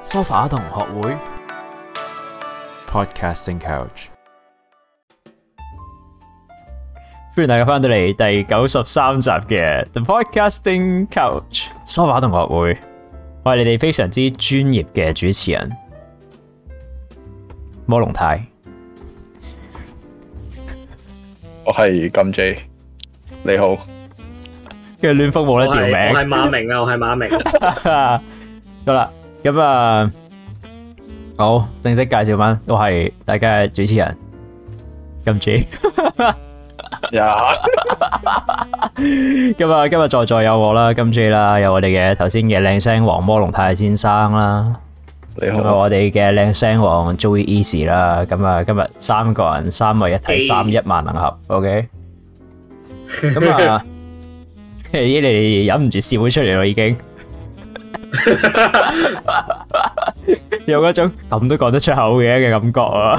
梳化同學會 Podcasting Couch， 歡迎大家翻到嚟第93集嘅 The Podcasting Couch 梳化同學會，我係你哋非常之專業嘅主持人摩龍太， 我係金 J， 你好。 跟住亂風冇得調名， 我係馬明啊，我係馬明。 好啦，咁好正式介紹翻，我係大家嘅主持人金 J。今日在座有我啦，金 J 啦，有我哋嘅頭先嘅靚聲王摩龍太先生啦， 你好。 我哋嘅靚聲王 Joey Easy 啦，今日三個人三位一體，三一萬能俠 ，OK。咁你哋忍唔住笑咗出嚟咯，已經有嗰種咁都講得出口嘅感覺啊！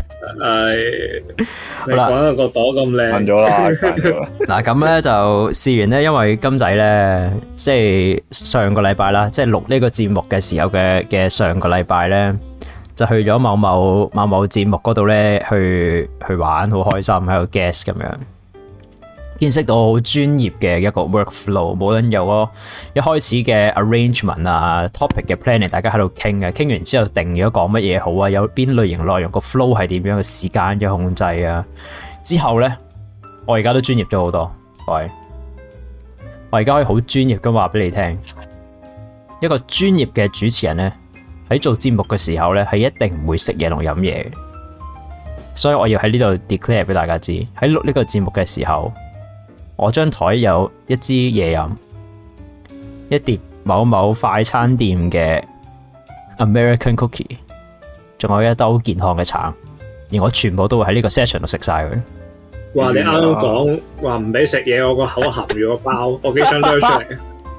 你講到個朵咁靚， 瞓咗啦。 嗱咁咧就試完咧，因為金仔咧，即係上個禮拜啦，即係錄呢個節目嘅時候嘅上個禮拜咧，就去咗某某節目嗰度咧去玩，好開心喺度 guest 咁樣。見識到好專業嘅一個 workflow， 無論有個一開始嘅 arrangement 啊 topic 嘅 planning， 大家喺度傾嘅，傾完之後定咗講乜嘢好啊，有邊類型內容個 flow 係點樣嘅時間嘅控制啊，之後咧我而家都專業咗好多，喂，我而家可以好專業咁話俾你聽，一個專業嘅主持人咧喺做節目嘅時候咧係一定唔會食嘢同飲嘢，所以我要喺呢度 declare 俾大家知，喺錄呢個節目嘅時候。我張台有一支嘢飲，一碟某某快餐店嘅 American Cookie， 仲有一兜健康嘅橙，而我全部都會喺呢個 session 度食晒佢。 哇！你啱啱講話唔俾食嘢，我個口含住個包，我幾想掠出嚟。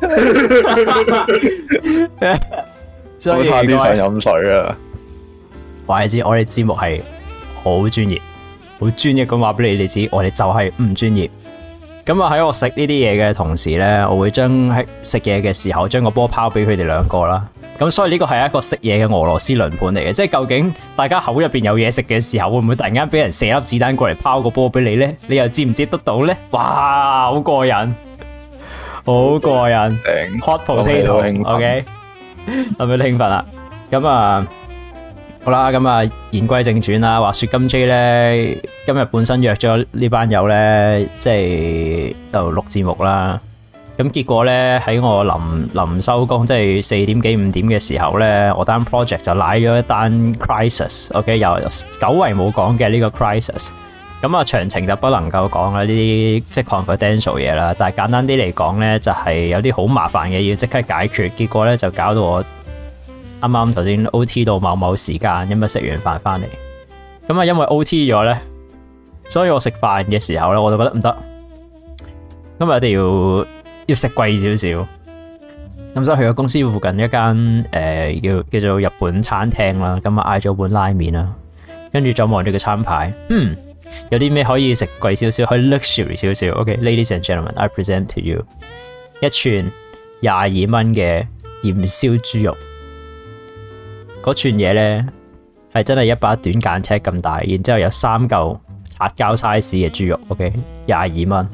所以差啲想飲水啊！ 話你知，我哋節目係好專業，好專業咁話俾你哋知，我哋就係唔專業。咁啊喺我食呢啲嘢嘅同時咧，我會將喺食嘢嘅時候將個波拋俾佢哋兩個啦。咁所以呢個係一個食嘢嘅俄羅斯輪盤嚟嘅，即係究竟大家口入邊有嘢食嘅時候，會唔會突然間俾人射粒子彈過嚟拋個波俾你咧？你又接唔接得到咧？哇，好過癮，好過癮 ，hot potato，OK， 係咪都興奮啦？咁啊。好啦，咁啊，言歸正傳啦。話說金 J 咧，今日本身約咗呢班友咧，即係就錄節目啦。咁結果咧喺我臨收工，即係4點幾5點嘅時候咧，我單 project 就瀨咗一單 crisis，OK， 又久違冇講嘅呢個 crisis。咁啊，詳情就不能夠講啦，呢啲即係 confidential 嘢啦。但係簡單啲嚟講咧，就係有啲好麻煩嘅要即刻解決，結果咧就搞到我。啱啱頭先 OT 到某時間，咁啊食完飯翻嚟，咁啊因為 OT 咗咧，所以我食飯嘅時候咧，我就覺得唔得，今日一定要食貴少少，咁所以去咗公司附近一間叫做日本餐廳啦，咁啊嗌咗碗拉麵啦，跟住再望住個餐牌，有啲咩可以食貴少少，可以 luxury 少少。OK，ladies and gentlemen，I present to you 一串22蚊嘅鹽燒豬肉。嗰串嘢咧係真係一把短間尺咁大，然之後有3嚿擦膠 size 嘅豬肉 ，OK， 22蚊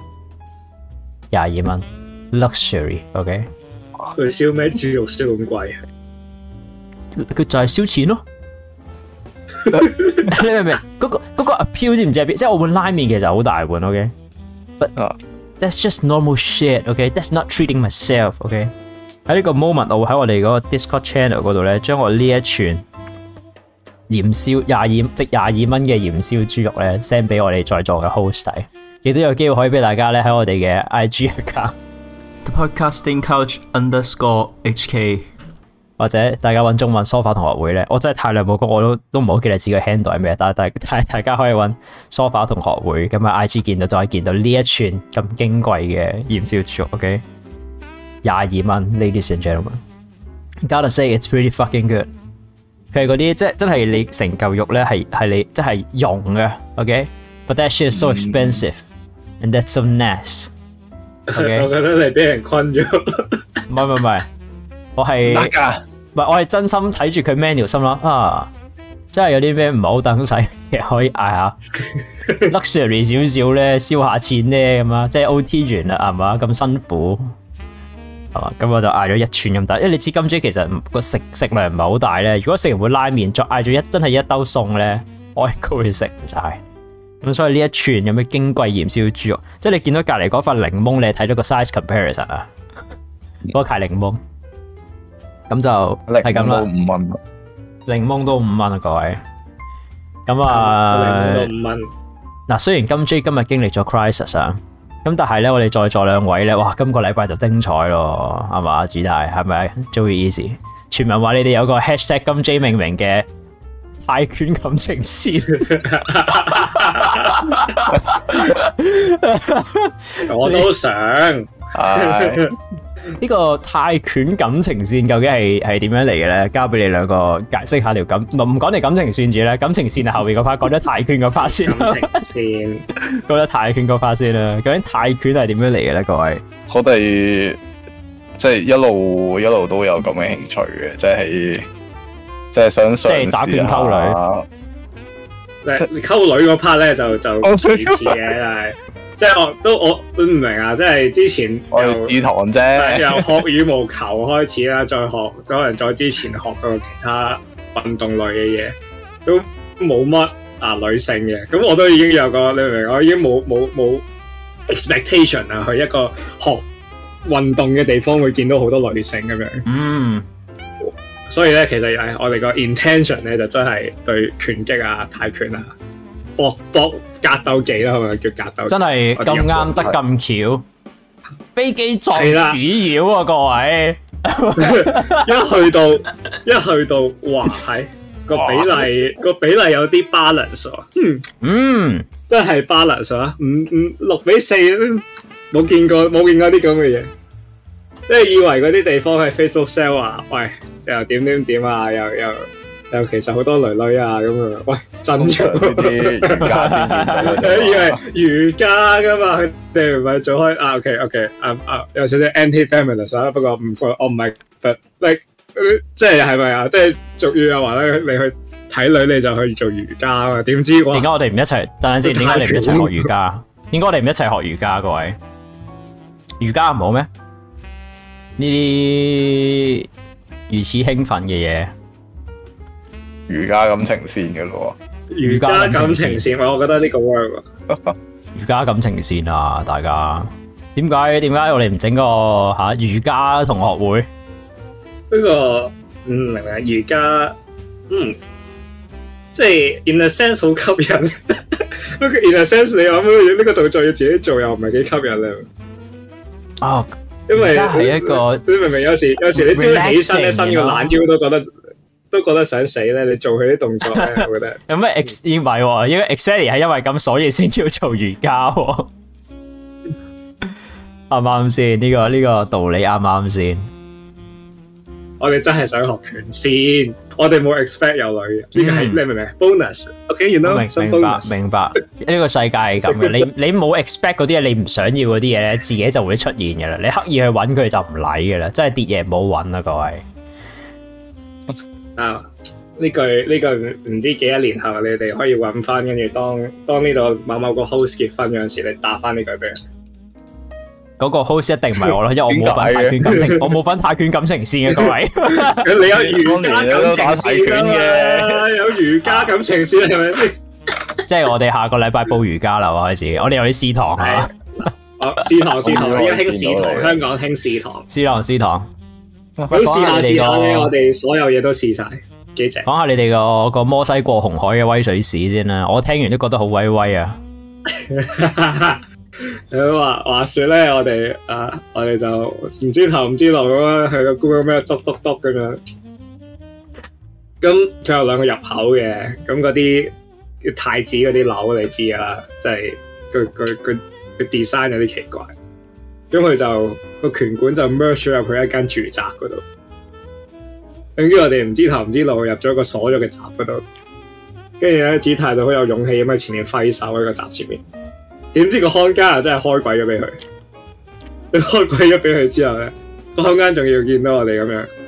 ，luxury，OK。 佢燒咩豬肉燒咁貴啊？ 佢就係燒錢咯。你明唔明？嗰個 appeal 知唔知係邊？即係我碗拉麵其實好大碗 ，OK，but that's just normal shit，OK，that's not treating myself，OK。喺呢個 moment，我會喺我哋嗰個 Discord channel 嗰度咧，將我呢一串鹽燒22蚊嘅鹽燒豬肉咧 send 俾我哋在座嘅 host 睇，亦都有機會可以俾大家咧喺我哋嘅 IG account The Podcasting Couch _HK， 或者大家揾中文梳化同學會咧，我真係太耐冇講，我都唔好記得自己 handle 係咩，但係大家可以揾梳化同學會咁啊 IG 見到就可以見到呢一串咁矜貴嘅鹽燒豬肉 ，OK。22蚊 ，ladies and gentlemen，gotta say it's pretty fucking good。佢係嗰啲即係真係你成嚿肉咧係你即係溶嘅 ，OK。But that shit is so expensive and that's so nice。我覺得你俾人困咗。 唔係，我係係我係真心睇住佢 menu 心諗啊，真係有啲咩唔係好等使嘅可以嗌下 luxury 少少咧，燒下錢咧咁啊，即係 OT 完啦係嘛，咁辛苦係嘛，咁我就嗌咗一串咁大，因為你知金 J 其實個食量唔係好大咧，如果食完碗拉麵再嗌咗真係一兜餸咧，我應該會食唔晒。咁所以呢一串有咩矜貴鹽燒豬肉，即係你見到隔籬嗰塊檸檬，你睇到個 size comparison 啊，嗰塊檸檬，咁就係咁啦。5蚊，檸檬都5蚊啊，各位。咁啊，檸檬都5蚊。嗱，雖然金 J 今日經歷咗 crisis 啊，咁但係咧，我哋在座兩位咧，哇，今個禮拜就精彩咯，係嘛？主大係咪 Joey Easy？傳聞話你哋有個 hashtag 金 J 命名嘅泰拳感情線， 我都想。 呢個泰拳感情線究竟係點樣嚟嘅咧？交俾你兩個解釋下條感，唔講你感情線住咧，感情線係後邊嗰 part，講咗泰拳嗰 part 先。感情線，講咗泰拳嗰 part 先啦。究竟泰拳係點樣嚟嘅咧？各位， 我哋即係一路都有咁嘅興趣嘅，即係想即係打拳溝女。 溝女嗰 part 咧就其次嘅，但係即係我唔明啊！即係之前由試堂啫， 由學羽毛球開始啦，再學可能再之前學過其他運動類嘅嘢，都冇乜女性嘅。咁我都已經有個你明唔明？我已經冇 expectation 啊，去一個學運動嘅地方會見到好多女性咁樣。嗯。所以咧，其實我哋個 intention 咧就真係對拳擊啊、泰拳啊、搏格鬥技啦，係咪叫格鬥？ 真係咁啱得咁巧，飛機撞紙鷂啊！各位，一去到，哇！係個比例有啲 balance 喎，真係 balance 啊！6-4，冇見過啲咁嘅嘢。即係以為嗰啲地方係 Facebook sell 啊，喂，又點啊，又其實好多女啊咁啊，喂，真咗啲瑜伽先，以為瑜伽噶嘛，佢哋唔係做開啊 OK，有少少 anti-feminist 啊，不過我唔係即係係咪啊？即係俗語又話咧，你去睇女你就去做瑜伽啊嘛，點知點解我哋唔一齊？等陣先，點解你唔一齊學瑜伽？點解我哋唔一齊學瑜伽？各位，瑜伽唔好咩？呢啲如此興奮嘅嘢， 瑜伽感情線嘅咯喎， 瑜伽感情線，我覺得呢個 work 瑜伽感情線啊，大家點解我哋唔整個瑜伽同學會？ 呢個明啊，瑜伽即係 in a sense 好吸引，不過 in a sense 你諗呢個動作要自己做又唔係幾吸引咧。哦。因為係一個，你明唔明？有時你朝起身咧，伸個懶腰都覺得想死咧。你做佢啲動作咧，我覺得有咩 唔係喎？因為 exactly 係因為咁，所以先要做瑜伽喎。啱唔啱先？呢個道理啱唔啱先？ 我哋真係想學拳先，我哋冇 expect 有女嘅，呢個係你明唔明 ？bonus，OK，you know， 明白。呢個世界係咁嘅，你冇 expect 嗰啲嘢，你唔想要嗰啲嘢咧，自己就會出現嘅啦。你刻意去揾佢就唔嚟嘅啦，真係跌嘢唔好揾啦，各位。啊，呢句唔知幾多年後你哋可以揾翻，跟住當呢度某個 host 結婚嗰陣時，你打翻呢句俾人。嗰個 host 一定唔係我咯，因為我冇份泰拳感情，我冇份泰拳感情線嘅各位。 你有瑜伽感情線嘅，有瑜伽感情線係咪先？即係我哋下個禮拜報瑜伽啦，我開始，我哋又要試堂啊！試堂，而家興試堂，香港興試堂，試堂。咁試下嘅，我哋所有嘢都試晒，幾正。講下你哋個摩西過紅海嘅威水史先啦，我聽完都覺得好威威啊！話說咧，我哋就唔知頭唔知路咁樣去個 Google 咩篤咁樣，咁佢有兩個入口嘅，咁嗰啲太子嗰啲樓你知噶啦，即係佢 design 有啲奇怪，咁佢就個拳館就 merge 咗入去一間住宅嗰度，跟住我哋唔知頭唔知路入咗個鎖咗嘅閘嗰度，跟住咧子泰就好有勇氣咁喺前面揮手喺個閘前面。點知個看更啊真係開鬼咗俾佢，開鬼咗俾佢之後咧，個看更仲要見到我哋咁樣，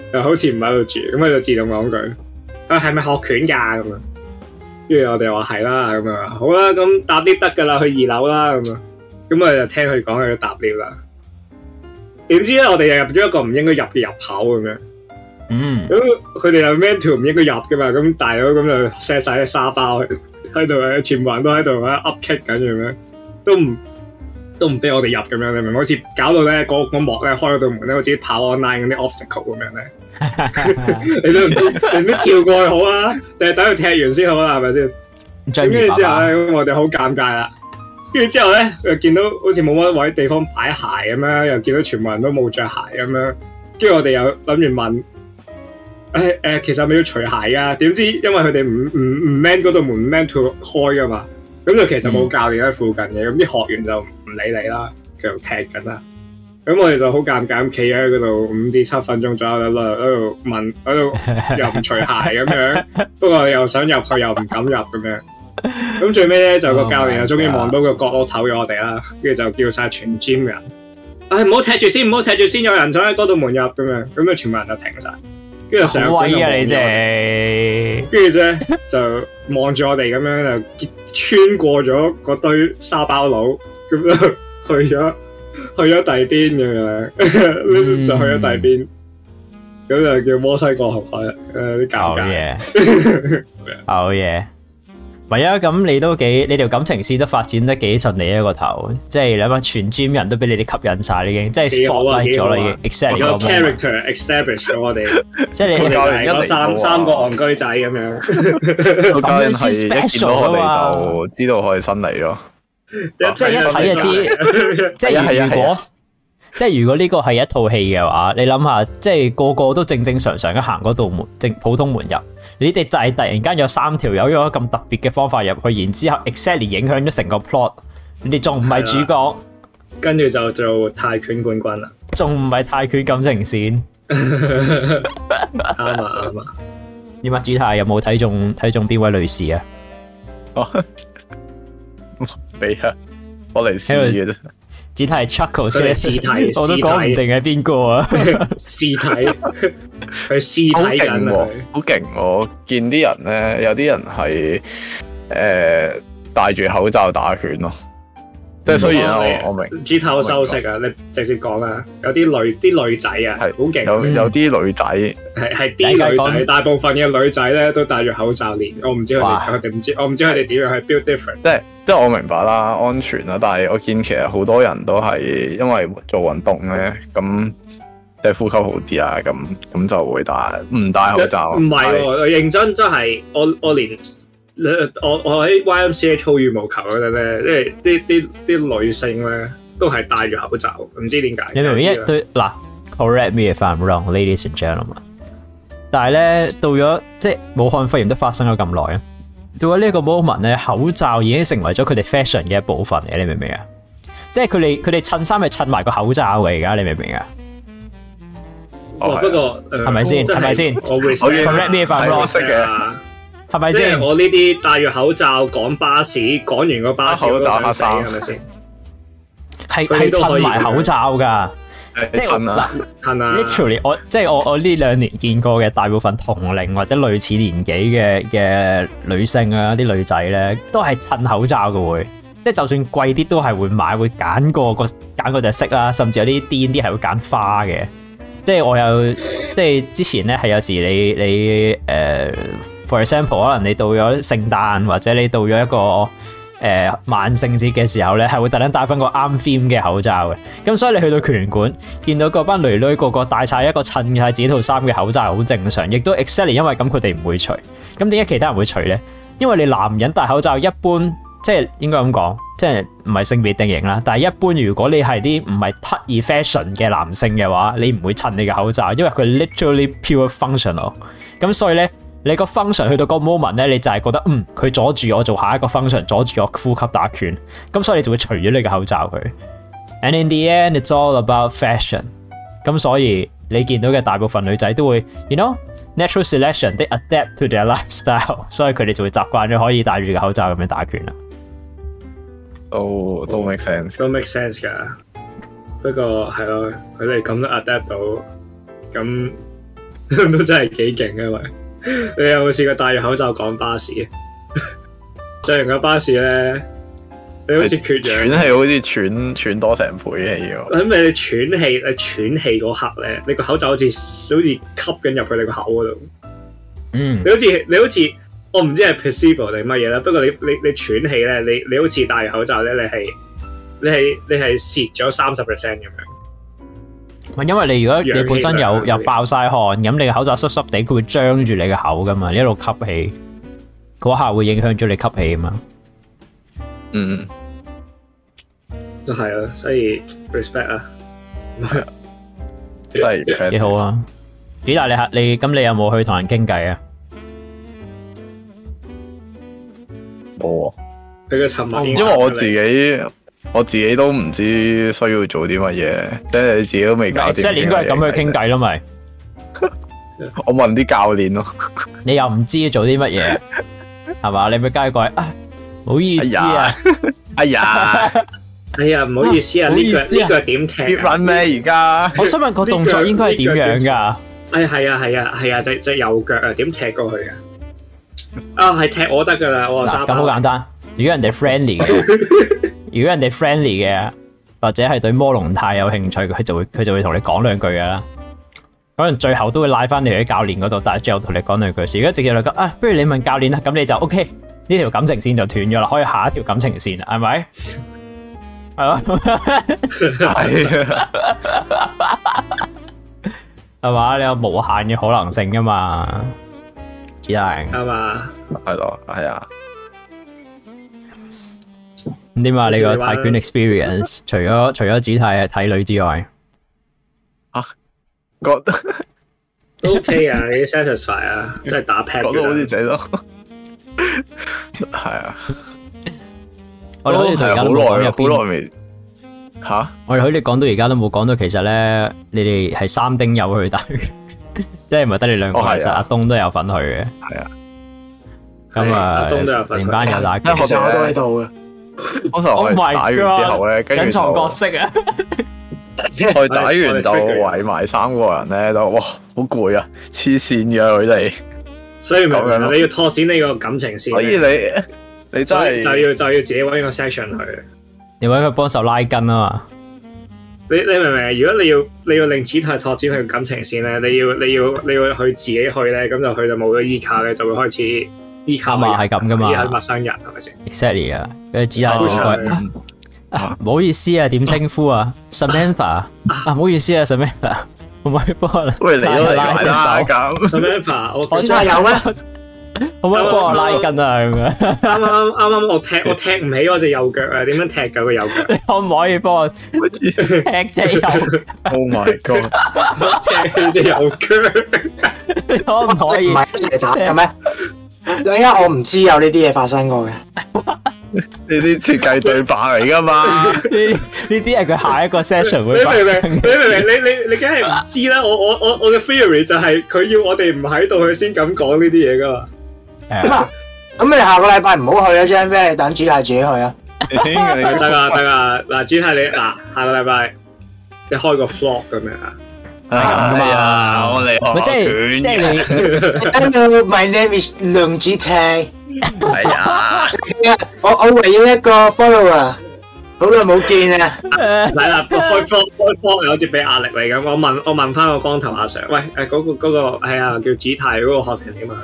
又好似唔喺度住，咁佢就自動講句：係咪學拳㗎？咁樣，跟住我哋話係啦，咁樣好啦，咁搭 lift 得㗎啦，去2樓啦，咁啊，咁我就聽佢講佢要搭 lift 啦。點知咧，我哋又入咗一個唔應該入嘅入口咁樣。咁佢哋又 mental 唔應該入㗎嘛，咁大佬咁就 set 晒啲沙包喺度，全部人都喺度up kick 緊咁樣，都唔俾我哋入咁樣，你明唔明？好似搞到咧個幕咧開嗰道門咧，好似跑 online 嗰啲 obstacle 咁樣咧，你都唔知你唔知跳過去好啊，定係等佢踢完先好啦，係咪先？跟住之後咧，咁我哋好尷尬啦。跟住之後咧，又見到好似冇乜位地方擺鞋咁樣，又見到全部人都冇着鞋咁樣。跟住我哋又諗住問，其實係咪要除鞋㗎？點知因為佢哋唔 man 嗰道門 man to 開㗎嘛，咁就其實冇教練喺附近嘅，咁啲學員就唔理你啦，繼續踢緊啦。咁我哋就好尷尬咁企喺嗰度5至7分鐘左右喺度問，喺度又唔除鞋咁樣，不過又想入去又唔敢入咁樣。咁最尾咧就個教練就終於望到個角落頭咗我哋啦，跟住就叫晒全 gym 人，唔好踢住先，唔好踢住先，有人想喺嗰度門入咁樣，咁就全部人就停晒，跟住成個隊就望住我哋，跟住啫就望住我哋咁樣就穿過咗嗰堆沙包佬，咁就去咗第二邊咁樣，就去咗第二邊，咁就叫摩西過河海，啲尷尬。 好嘢。唔係啊，咁你條感情線都發展得幾順利一個頭，即係你諗下全 gym 人都俾你哋吸引晒，已經即係 spotlight 咗啦，已經 exactly 有 character establish 咗我哋， 即係你係嗰三個戇居仔咁樣， 咁樣係一見到我哋就知道我哋新嚟咯， 即係一睇就知，即係如果呢個係一套戲嘅話，你諗下，即係個個都正常咁行嗰道門，普通門入，你哋就係突然間有3條友用咗咁特別嘅方法入去，然之後 exactly 影響咗成個 plot， 你哋仲唔係主角，跟住就做泰拳冠軍啦， 仲唔係泰拳感情線？ 啱啊！ 點啊？主泰有冇睇中邊位女士啊？ 俾啊，我嚟試嘅啫。 只係 Chuckles 嘅屍體， 我都講唔定係邊個啊！ 屍體，佢屍體緊啊！ 好勁！我見啲人咧，有啲人係戴住口罩打拳咯。即係雖然我明， 豬頭收息啊！你直接講啊！有啲女仔啊，係好勁。有啲女仔係啲女仔，大部分嘅女仔咧都戴住口罩練。我唔知佢哋唔知，我唔知佢哋點樣去 build different。 即係我明白啦，安全啦，但係我見其實好多人都係因為做運動咧，咁即係呼吸好啲啊，咁就會唔戴口罩。 唔係，我認真真係我連我喺 YMCA 操羽毛球嗰陣咧，即係啲女性咧都係戴住口罩，唔知點解。 你明唔明一對嗱 ？Correct me if I'm wrong, ladies and gentlemen。但係咧到咗即係武漢肺炎都發生咗咁耐啊！到咗呢個 moment 咧，口罩已經成為咗佢哋 fashion 嘅一部分嘅，你明唔明啊？即係佢哋襯衫係襯埋個口罩嘅，而家你明唔明啊？ 不過係咪先？係咪先？ 我會 correct me if I'm wrong 嘅，係咪先？ 我呢啲戴住口罩趕巴士，趕完個巴士我都想死，係咪先？ 係襯埋口罩㗎。即係literally 我呢2年見過嘅大部分同齡或者類似年紀嘅女性啊，啲女仔咧都係襯口罩嘅會，即係就算貴啲都係會買，會揀嗰隻色啦，甚至有啲癲啲係會揀花嘅。即係我有即係之前咧係有時你for example 可能你到咗聖誕或者你到咗一個萬聖節嘅時候咧，係會特登戴翻個啱 theme 嘅口罩嘅。咁所以你去到拳館，見到嗰班女女個個戴晒一個襯晒自己套衫嘅口罩，好正常。亦都 exactly 因為咁，佢哋唔會除。咁點解其他人會除咧？因為你男人戴口罩一般，即係應該咁講，即係唔係性別定型啦。但係一般如果你係啲唔係刻意 fashion 嘅男性嘅話，你唔會襯你嘅口罩，因為佢 literally pure functional。咁所以咧。你個 function 去到個 moment 咧，你就係覺得佢阻住我做下一個 function， 阻住我呼吸打拳，咁所以你就會除咗你個口罩佢。And in the end, it's all about fashion。咁所以你見到嘅大部分女仔都會 ，you know, natural selection，they adapt to their lifestyle， 所以佢哋就會習慣咗可以戴住個口罩咁樣打拳啦。 都 make sense， 都 make sense 㗎。不過係咯，佢哋咁都 adapt 到，咁。 都真係幾勁嘅喂！你有冇試過戴住口罩趕巴士？上完個巴士咧，你好似缺氧， 喘氣好似喘多成倍嘅要。 咁你喘氣嗰刻咧，你個口罩好似吸緊入去你個口嗰度。 嗯， 你好似我唔知係 placebo 定乜嘢啦。不過你喘氣咧，你好似戴住口罩咧，你係蝕咗30% 咁樣。 因為你如果你本身有爆晒汗，咁你個口罩濕濕地，佢會張住你個口噶嘛，你一路吸氣，嗰下會影響咗你吸氣啊嘛。 嗯， 都係啊，所以 respect 啊， 係幾好啊！主大你咁你有冇去同人傾偈啊？ 冇啊， 佢嘅沉默， 因為我自己都唔知需要做啲乜嘢，即係你自己都未搞掂。 即係你應該係咁去傾偈咯，咪？ 我問啲教練咯。 你又唔知做啲乜嘢，係嘛？你咪加過去啊！唔好意思啊！ 哎呀， 唔好意思啊！呢腳點踢？ 跌穩咩？而家我想問個動作應該係點樣㗎？ 係啊，隻右腳啊，點踢過去啊？係踢我得㗎啦，我咁好簡單。如果人哋 friendly 嘅，或者係對摩龍太有興趣，佢就會同你講兩句㗎啦。可能最後都會拉翻你去教練嗰度，但係最後同你講兩句事。如果直接嚟講不如你問教練啦，咁你就 OK，呢條感情線就斷咗啦，可以下一條感情線啦，係咪？係咯，係嘛？你有無限嘅可能性噶嘛？子大係嘛？ 係咯，係啊。 咁點啊？你個泰拳 experience 除咗子泰係睇女之外， 覺得都 OK 啊，你 satisfy 啊，即係打 pad 覺得好似仔咯。係啊， 我哋好似到而家都冇講入好耐未吓。 我哋好似講到而家都冇講到，其實咧你哋係3丁友去打，即係唔係得你兩個？其實阿東都有份去嘅。係啊，咁啊，成班友打， 其實我都喺度嘅。 嗰時候我打完之後咧，跟住隱藏角色啊！ 我打完就圍埋3個人咧，都哇好攰啊，黐線嘅佢哋。 所以明明你要拓展呢個感情線， 所以你真係就要自己搵個 section 去， 你搵佢幫手拉筋啊嘛。 你明唔明？如果你要令子泰拓展佢感情線咧，你要去自己去咧，咁就佢就冇咗依靠咧，就會開始依靠嘛，係咁噶嘛， 依靠陌生人係咪先 ？Exactly 啊，跟住子泰就講唔好意思啊，點稱呼啊 ？Samantha 唔好意思啊 ，Samantha， 可唔可以幫我喂，你都拉隻手 ？Samantha， 我真係有咩？ 可唔可以幫我拉筋啊？咁樣啱我踢唔起我隻右腳啊！點樣踢㗎個右腳？ 你可唔可以幫我踢隻右腳 ？Oh my god！ 踢隻右腳， 你可唔可以？ 唔係一齊打嘅咩？因為我唔知有呢啲嘢發生過嘅。 呢啲設計對白嚟噶嘛？ 呢啲係佢下一個 session 會發生嘅。 你梗係唔知啦！我嘅 theory 就係佢要我哋唔喺度，佢先咁講呢啲嘢噶嘛。 咁你下個禮拜唔好去啊，張飛，你等子泰自己去啊。 得噶，嗱，子泰你下個禮拜你開個 vlog 咁樣啊。 係啊，我嚟學拳。 即係你 Hello, my name is 梁子泰。 係啊， 我唯一一個 follower，好耐冇見啊！ 嚟啦，開 vlog 好似俾壓力你咁。我問翻個光頭阿 Sir， 喂，嗰個係啊，叫子泰嗰個學成點啊？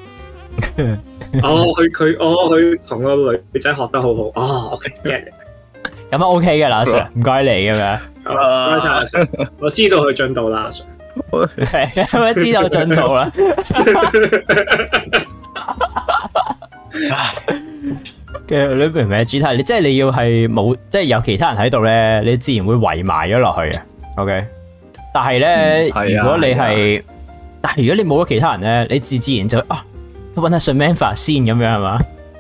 佢同個女仔學得好好。OK get。 咁啊 OK 嘅啦，阿 Sir， 唔該你咁樣。 唔該晒阿 Sir， 我知道佢進度啦，阿 Sir。 係，知道進度啦。你明唔明主題？你即係你要係冇，即係有其他人喺度咧，你自然會圍埋咗落去嘅。OK， 但係咧，如果你係，但係如果你冇咗其他人咧，你自然就都揾下 Samantha 先咁樣係嘛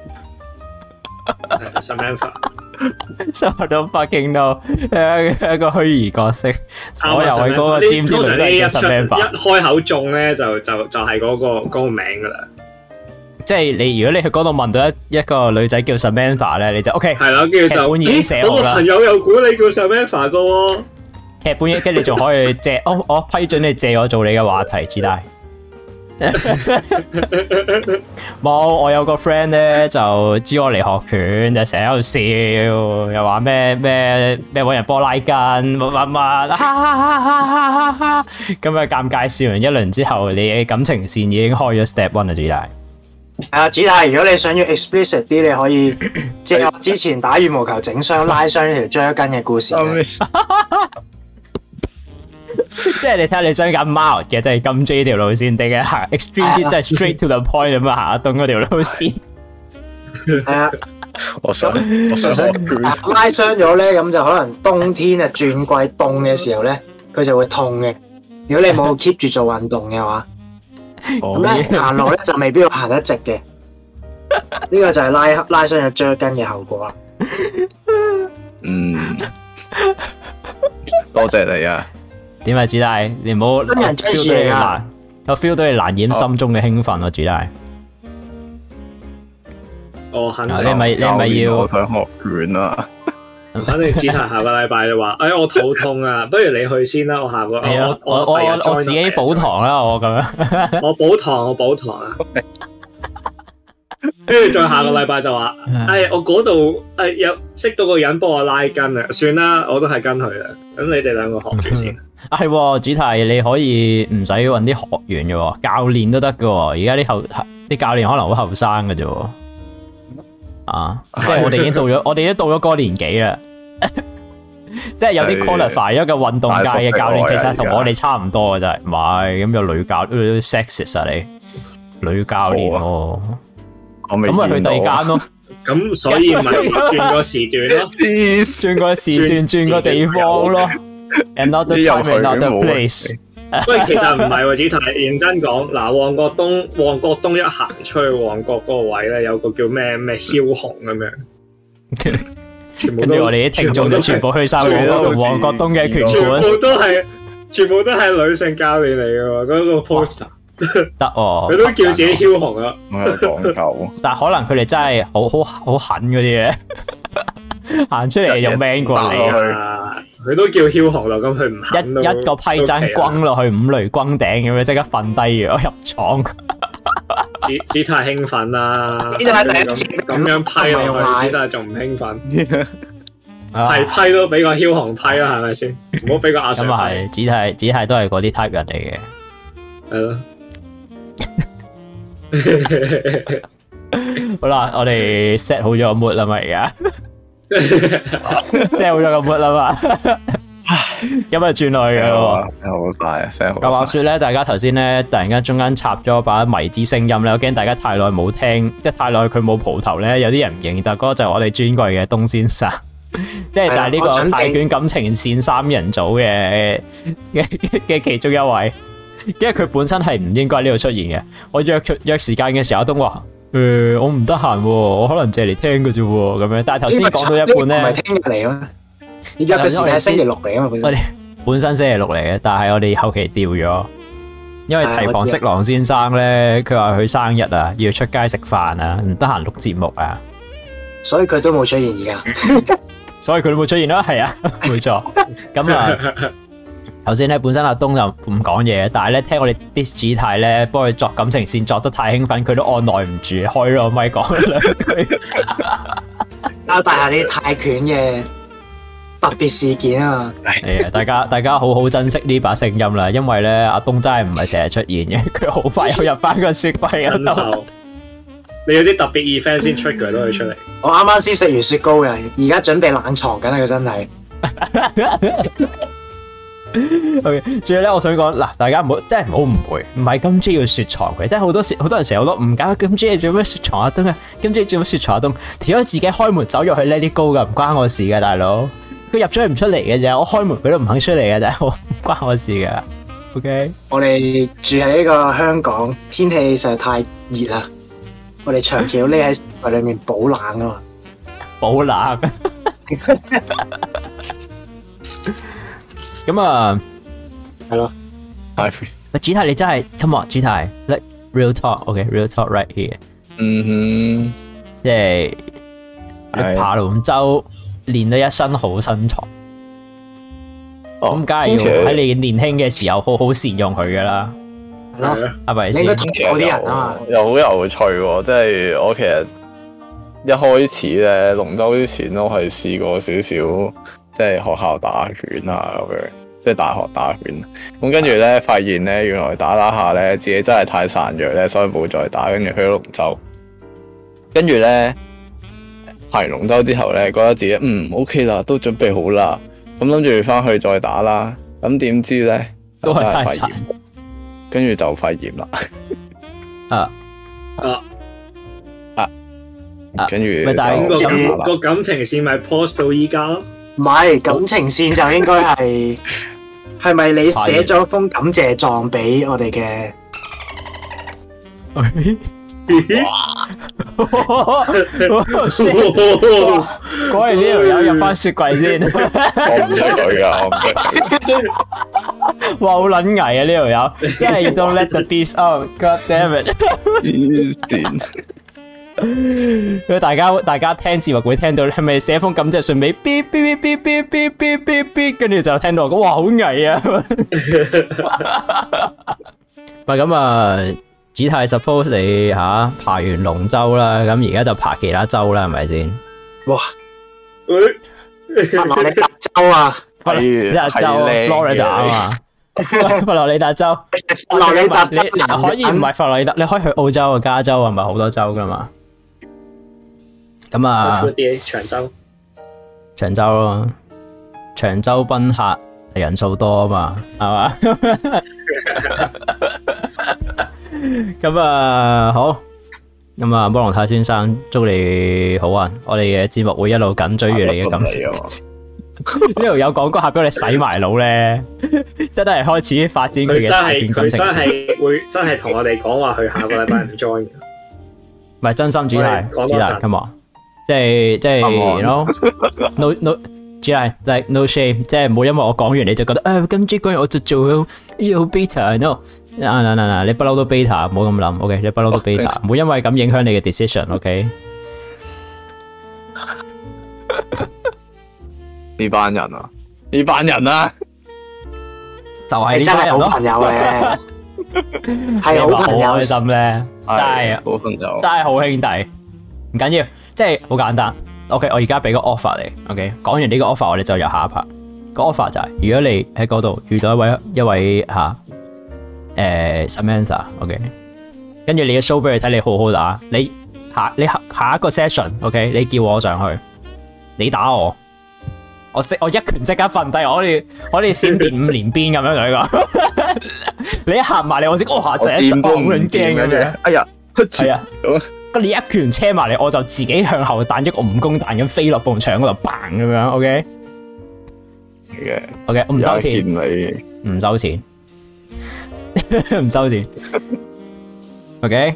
？Samantha 都 fucking no， 一個虛擬角色，所有喺嗰個 gym 都係 Samantha。 一開口中咧，就係嗰個名噶啦。 即係你，如果你去嗰度問到一個女仔叫 Samantha 咧，你就 OK。 係啦，跟住就已經寫好啦。 我朋友又估你叫 Samantha 噶喎。 劇本跟住你仲可以借，我批准你借我做你嘅話題，子大。 冇，我有個 friend 咧就知我嚟學拳，就成日喺度笑，又話咩搵人波拉筋，乜，咁啊尷尬笑完一輪之後，你嘅感情線已經開咗 step one 啦，主大。 主太，如果你想要 explicit 啲，你可以即係我之前打羽毛球整傷拉傷呢條橡筋嘅故事。 即係你睇下你想揀 mild 嘅，即係金 J 條路線，定係行 extreme 啲，即係 straight to the point 咁啊，行阿東嗰條路線。 係啊， 我想拉傷咗咧，咁就可能冬天啊轉季凍嘅時候咧，佢就會痛嘅。如果你冇 keep 住做運動嘅話，咁咧行路咧就未必要行得直嘅。呢個就係拉傷咗橡筋嘅後果啦。 多謝你啊！ 點啊，主大，你唔好我 feel 到你難掩心中嘅興奮啊，主大。 我肯， 你咪要我想學拳啊！ 反正主太下個禮拜就話，我肚痛啊，不如你去先啦，我下個我自己補堂啦，我咁樣。我補堂啊！跟住再下個禮拜就話，我嗰度有識到個人幫我拉筋啊，算啦，我都係跟佢啦。咁你哋兩個學住先。係， 主題你可以唔使搵啲學員嘅，教練都得嘅。而家啲教練可能好後生嘅啫。即係我哋已經到咗嗰個年紀啦。即係有啲 qualify 咗嘅運動界嘅教練，其實同我哋差唔多嘅啫。唔係咁有女教 sexist 啊你女教練喎。咁咪去第二間咯， 咁所以咪轉個時段咯， 轉個時段，轉個地方咯。Another time, another place。 喂，其實唔係喎，子泰認真講，嗱，旺角東一行出去旺角嗰個位咧，有個叫咩梟雄咁樣。 跟住我哋啲聽眾就全部去晒旺角東嘅拳館， 全部都係女性教練嚟嘅喎，嗰個 poster。 得佢都叫自己梟雄啊！ 我有講究， 但係可能佢哋真係好狠嗰啲嘅，行出嚟就 man 過你啊！佢都叫梟雄啦，咁佢唔肯一個批踭轟落去五雷轟頂咁樣，即刻瞓低咗入廠。 子太興奮啦！咁樣批落去，子太仲唔興奮？係批都俾個梟雄批啦，係咪先？唔好俾個阿 Sir 批。咁啊係，子太都係嗰啲 type 人嚟嘅。 係咯。 好啦，我哋 set 好咗個 mood 啦嘛，而家 set 好咗個 mood 啦嘛，咁啊轉落去噶咯。 好快 set 好。 咁話說咧，大家頭先咧突然間中間插咗把迷之聲音咧，我驚大家太耐冇聽，即係太耐佢冇蒲頭咧，有啲人唔認得。嗰個就係我哋尊貴嘅東先生，即係就係呢個泰拳感情線三人組嘅其中一位。因為佢本身係唔應該喺呢度出現嘅，我約時間嘅時候，阿東話：我唔得閒，我可能借嚟聽嘅啫，咁樣。但係頭先講到一半咧，唔係聽日嚟咯，你約嘅時間係星期六嚟啊嘛，本身星期六嚟嘅，但係我哋後期調咗，因為提防色狼先生咧，佢話佢生日啊，要出街食飯啊，唔得閒錄節目啊， 所以佢都冇出現而家， 所以佢都冇出現咯，係啊，冇錯，咁啊。頭先咧，本身阿東就唔講嘢，但係咧聽我哋啲主太咧幫佢作感情線作得太興奮，佢都按耐唔住，開咗個咪講兩句。 交代下啲泰拳嘅特別事件啊！ 係啊，大家好好珍惜呢把聲音啦，因為咧阿東真係唔係成日出現嘅，佢好快又入翻個雪櫃嗰度。 你有啲特別 event 先出佢都可以出嚟。 我啱啱先食完雪糕嘅，而家準備冷藏緊啊個身體。 OK，最後咧，我想講嗱，大家唔好真係唔好誤會，唔係金 J 要雪藏佢，即係好多人成日好多誤解，金 J 做咩雪藏阿東啊？金 J 做咩雪藏阿東？條友自己開門走入去 Let It Go 噶，唔關我事噶，大佬。佢入咗去唔出嚟嘅啫，我開門佢都唔肯出嚟嘅啫，唔關我事噶。OK， 我哋住喺呢個香港，天氣實在太熱啦，我哋長期要匿喺室內裏面保冷啊嘛， 保冷。咁啊，係咯， 係。 喂，子泰你真係 ，come on，子泰 ，like real talk，OK，real talk right here。 嗯哼， 即係你爬龍舟練到一身好身材，咁梗係要喺你年輕嘅時候好好善用佢噶啦。 咯， 係咪先？ 你應該睇到啲人啊嘛， 又好有趣喎！即係我其實一開始咧龍舟之前都係試過少少，即係學校打拳啊咁樣，即係大學打拳。咁跟住咧發現咧，原來打下咧自己真係太孱弱咧，所以冇再打，跟住去咗龍舟。跟住咧排完龍舟之後咧，覺得自己OK 啦，都準備好啦，咁諗住翻去再打啦。咁點知咧都係太孱， 跟住就肺炎啦。跟住咪但係個感情線咪 post 到依家咯？ 唔係感情線就應該係咪你寫咗封感謝狀俾我哋嘅？ 果然呢條友入翻雪櫃先。 我唔識佢噶，我唔識。 哇，好撚危啊！呢條友，因為 you don't let the beast out，God damn it！大家聽節目會聽到，係咪寫封感謝信俾 B B B B B B B B， 跟住就聽到我講哇好危啊！喂，咁啊，子泰 suppose 你爬完龍舟啦，咁而家就爬其他州啦，係咪先？ 哇！佛羅里達州啊， 佛羅里達州 Florida 啊嘛，佛羅里達州， 佛羅里達州你可以唔係佛羅里達，你可以去澳洲啊，加州係咪好多州噶嘛？咁啊，長洲咯，長洲賓客人數多啊嘛，係嘛？咁啊好，咁啊摩龍泰先生祝你好運，我哋嘅節目會一路緊追住你嘅感情。呢度有廣告客俾我哋洗埋腦咧，真係開始發展佢嘅大段感情。 佢真係會真係同我哋講話，佢下個禮拜唔 join 嘅。 唔係真心主題，主題 come on， 即係 you know no 主題 like no shame， 即係唔好因為我講完你就覺得咁 J 講完我就做好 beta no。嗱，你不嬲都 beta， 唔好咁諗 ，OK？ 你不嬲都 beta， 唔好因為咁影響你嘅 decision，OK？ 呢班人啊，就係呢真係班人咯， 好朋友嘅，係好朋友， 開心咧，真係好朋友， 真係好兄弟，唔緊要，即係好簡單。OK， 我而家俾個 offer 你 ，OK？ 講完呢個 offer， 我哋就入下一 part。個 offer 就係，如果你喺嗰度遇到一位Samantha，OK， 跟住你嘅 show 俾佢睇，你好好打，你下一個 session，OK， 你叫我上去，你打我，我一拳即刻瞓低，我哋閃電5連鞭咁樣同你講，你一行埋嚟，我即刻哇，就一陣好撚驚咁樣， 哎呀， 係啊，咁你一拳車埋嚟，我就自己向後彈一個蜈蚣彈咁飛落埲牆嗰度，bang咁樣 ，OK，我唔收錢，唔收錢。唔收錢，OK。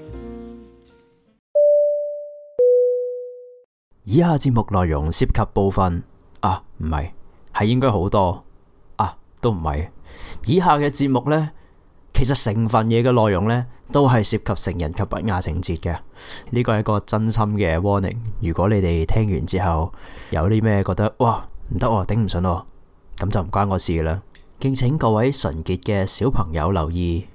以下節目內容涉及部分唔係，係應該好多都唔係。以下嘅節目呢，其實成份嘢嘅內容呢，都係涉及成人及不雅情節嘅。呢個係一個真心嘅 warning。如果你哋聽完之後有啲咩覺得哇唔得頂唔順喎，咁就唔關我事嘅啦。敬請各位純潔嘅小朋友留意。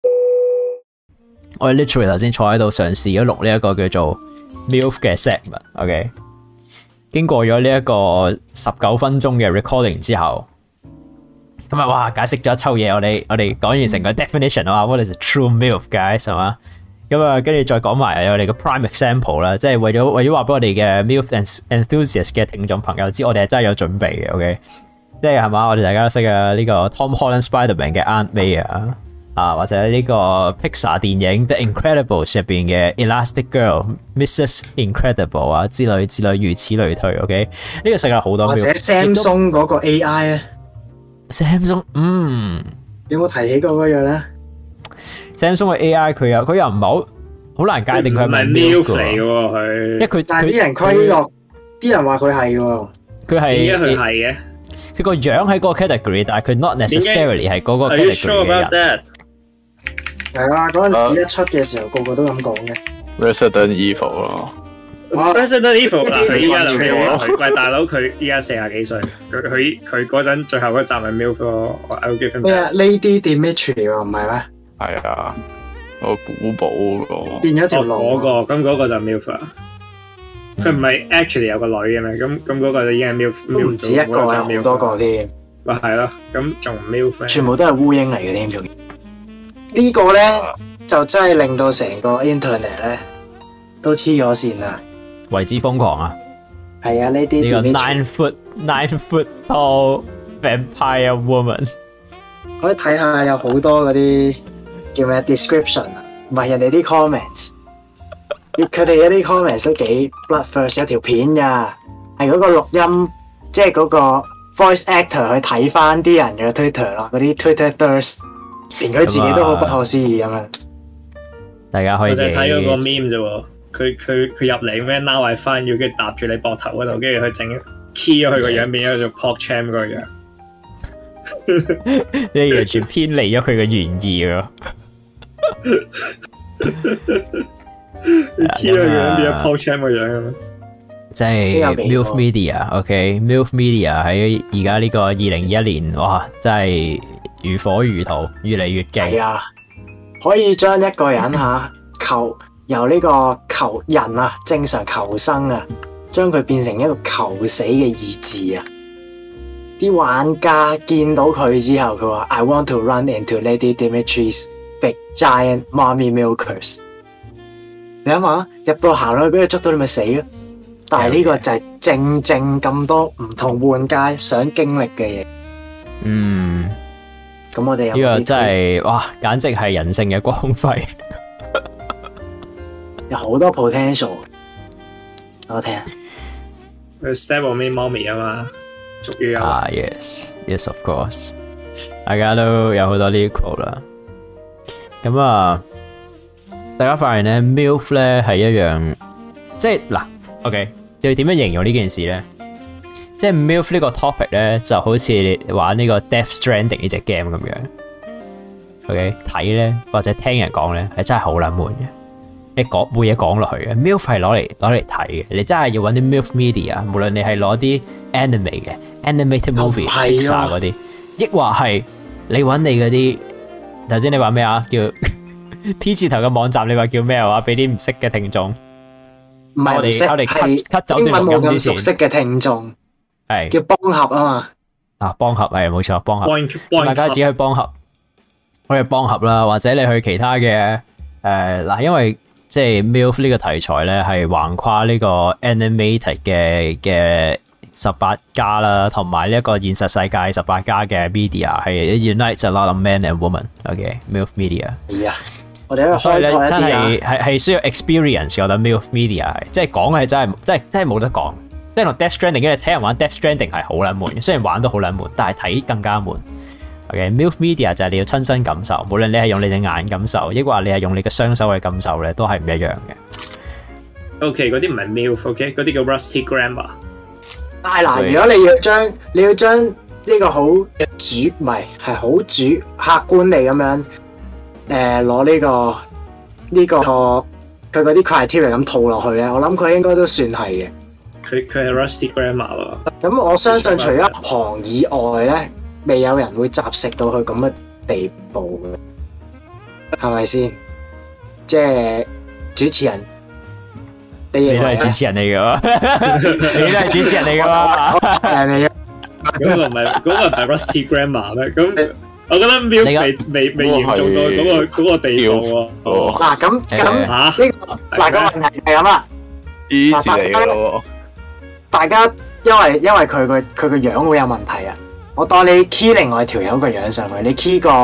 我哋 literally 頭先坐喺度嘗試咗錄呢一個叫做 MILF 嘅 segment，OK？ 經過咗呢一個19分鐘嘅 recording 之後，咁啊哇解釋咗一抽嘢，我哋講完成個 definition 啊，what is a true MILF guys 係嘛？咁啊跟住再講埋我哋嘅 prime example 啦，即係為咗話俾我哋嘅 MILF enthusiast 嘅聽眾朋友知，我哋係真係有準備嘅 ，OK？即係嘛，我哋大家都識嘅呢個 Tom Holland Spider-Man 嘅 Aunt May 或者呢個 Pixar 電影 The Incredibles 入邊嘅 Elastic Girl、Mrs. Incredible 之類如此類推。OK， 呢個世界好多。 或者 Samsung 嗰個 AI 咧 ，Samsung 有冇提起過嗰樣咧 ？Samsung 嘅 AI 佢又唔係好難界定佢係咪 MILF 嚟嘅喎佢， 因為佢但係啲人規落，啲人話佢係喎， 佢係點解佢係嘅？ 佢個樣喺嗰個 category， 但係佢 not necessarily 係嗰個 category 嘅人。 係啊，嗰陣時一出嘅時候，個個都咁講嘅。 Resident Evil 咯 ，Resident Evil 嗱，佢依家就 MILF 啦。喂，大佬，佢依家40幾歲，佢嗰陣最後嗰集係 MILF 咯。咩啊 ？Lady Dimitri 喎，唔係咩？ 係啊，個古堡嗰個變咗條路。 咁嗰個就 MILF 啦。佢唔係 actually 有個女嘅咩？咁嗰個就已經係 MILF。 都唔止一個，有好多個添。 咪係咯，咁仲 MILF 咩？ 全部都係烏蠅嚟嘅添，仲呢個咧就真係令到成個 internet 咧都黐咗線啦， 為之瘋狂啊！ 係啊，呢啲呢個 nine foot tall vampire woman， 可以睇下有好多嗰啲叫咩 description 啊，唔係人哋啲 comments， 佢哋嗰啲 comments 都幾 bloodthirst， 有條片㗎，係嗰個錄音，即係嗰個 voice actor 去睇翻啲人嘅 Twitter 咯，嗰啲 Twitter thirst， 連佢自己都好不可思議咁樣。 大家可以我就睇嗰個 meme 啫喎，佢入嚟咩 Now I find you，跟住搭住你膊頭嗰度，跟住佢整 key 咗佢個樣，變咗做 PogChamp 嗰個樣。 你完全偏離咗佢嘅原意咯。 key 咗個樣變咗 PogChamp 個樣咁樣。 即係 MILF Media，OK，MILF Media 喺而家呢個2021年，哇，真係如火如荼，越嚟越勁。 係啊，可以將一個人由呢個求人啊，正常求生啊，將佢變成一個求死嘅意志啊！啲玩家見到佢之後，佢話 I want to run into Lady Dimitri's big giant mommy milkers。你諗下，入到行落去俾佢捉到，你咪死咯！但係呢個就係正咁多唔同玩家想經歷嘅嘢。 嗯， 咁我哋呢個真係哇，簡直係人性嘅光輝。 有好多 potential， 我聽下。 佢 Stab on me mommy 啊嘛，終於有。 yes of course， 大家都有好多呢啲 quote 啦。咁啊，大家發現咧 ，MILF 咧係一樣，即係嗱 ，OK， 要點樣形容呢件事咧？即係 MILF 呢個 topic 咧，就好似你玩呢個 Death Stranding 呢隻 game 咁樣。OK， 睇咧或者聽人講咧，係真係好撚悶嘅。你講冇嘢講落去嘅 ，MILF 係攞嚟睇嘅。你真係要揾啲 MILF media， 無論你係攞啲 anime 嘅 animated movie、Pixar 嗰啲，抑或係你揾你嗰啲頭先你話咩啊？叫 P 字頭嘅網站，你話叫咩話？俾啲唔識嘅聽眾， 唔係唔識，係英文冇咁熟悉嘅聽眾，係叫幫合啊嘛。 啊，幫合係冇錯，幫合，大家只去幫合，可以幫合啦，或者你去其他嘅嗱，因為即係 MILF 呢個題材咧，係橫跨呢個 animated 嘅18家啦，同埋呢一個現實世界18家嘅 media 係 unites a lot of men and women。OK，MILF Media。係啊，我哋所以咧真係需要 experience， 我覺得 MILF Media 係即係講係真係冇得講。即係同 Death Stranding， 因為睇人玩 Death Stranding 係好撚悶，雖然玩都好撚悶，但係睇更加悶。OK，MILF Media 就係你要親身感受，無論你係用你隻眼感受，抑或你係用你嘅雙手去感受咧，都係唔一樣嘅。 OK， 嗰啲唔係 MILF，OK， 嗰啲叫 Rusty Grammar。 但係嗱，如果你要將呢個好主唔係好主客觀地咁樣攞呢個佢嗰啲 criteria 咁套落去咧，我諗佢應該都算係嘅。 佢係 Rusty Grammar 咯。咁我相信除咗行以外咧，未有人會雜食到去咁嘅地步嘅，係咪先？即係主持人，你都係主持人嚟㗎喎， 你都係主持人嚟㗎嘛？ 嗰個唔係 Rusty Grammar 咩？咁我覺得 MILF 未嚴重到嗰個地步喎。 嗱咁呢個嗱個問題係咁啦， 嚟㗎喎。 大家因為佢個樣會有問題啊！我當你 key 另外條友個樣上去，你 key 個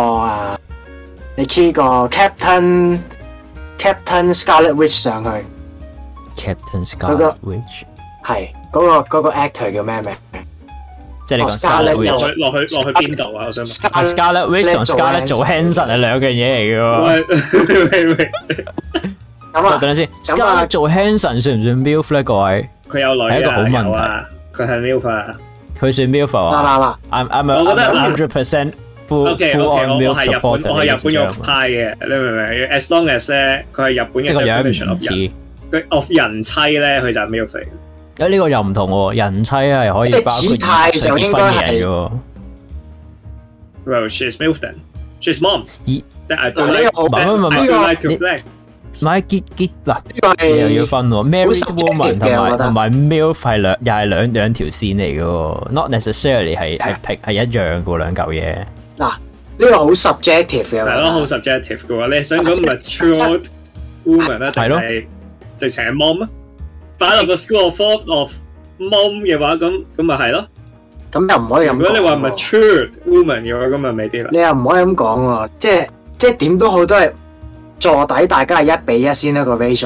Captain Scarlet Witch 上去 ，Captain Scarlet Witch 係嗰個 actor 叫咩名？ 即係你講 Scarlet Witch 落去邊度啊？我想問。 Scarlet Witch 同 Scarlett Johansson係兩樣嘢嚟嘅喎。咁啊，等陣先 ，Scarlett Johansson算唔算 MILF 咧？各位， 佢有女啊， 係一個好問題。 佢係 MILF 啊。 佢算 MILF 啊？嗱我覺得 100% full on MILF supporter。 我係日本肉派嘅，你明唔明 ？As long as 咧，佢係日本嘅 definition of 人妻咧，佢就係 MILF。 呢個又唔同喎，人妻係可以包括態就應該係嘅。 Well, she's MILF then。 she's mom。但係呢個好， 唔係結嗱，呢個係又要分喎。Married woman 同埋 MILF 係又係兩條線嚟嘅喎 ，not necessarily 係一樣嘅兩嚿嘢。 嗱，呢個好 subjective 嘅， 係咯，好 subjective 嘅喎。你想講 matured woman 咧，定係直情係 mom 啊？擺落個 school of thought of mom 嘅話，咁咪係咯。咁又唔可以咁講。 如果你話 matured woman 嘅話，咁咪未必啦。 你又唔可以咁講喎，即係點都好都係。坐底大家係1:1先一個 ratio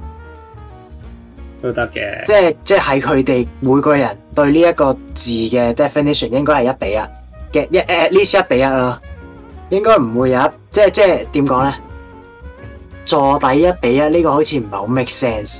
都得嘅， 即係佢哋每個人對呢一個字嘅 definition 應該係1:1嘅，at least 1:1啦，應該唔會有即係點講咧？坐底1:1呢個好似唔係好 make sense。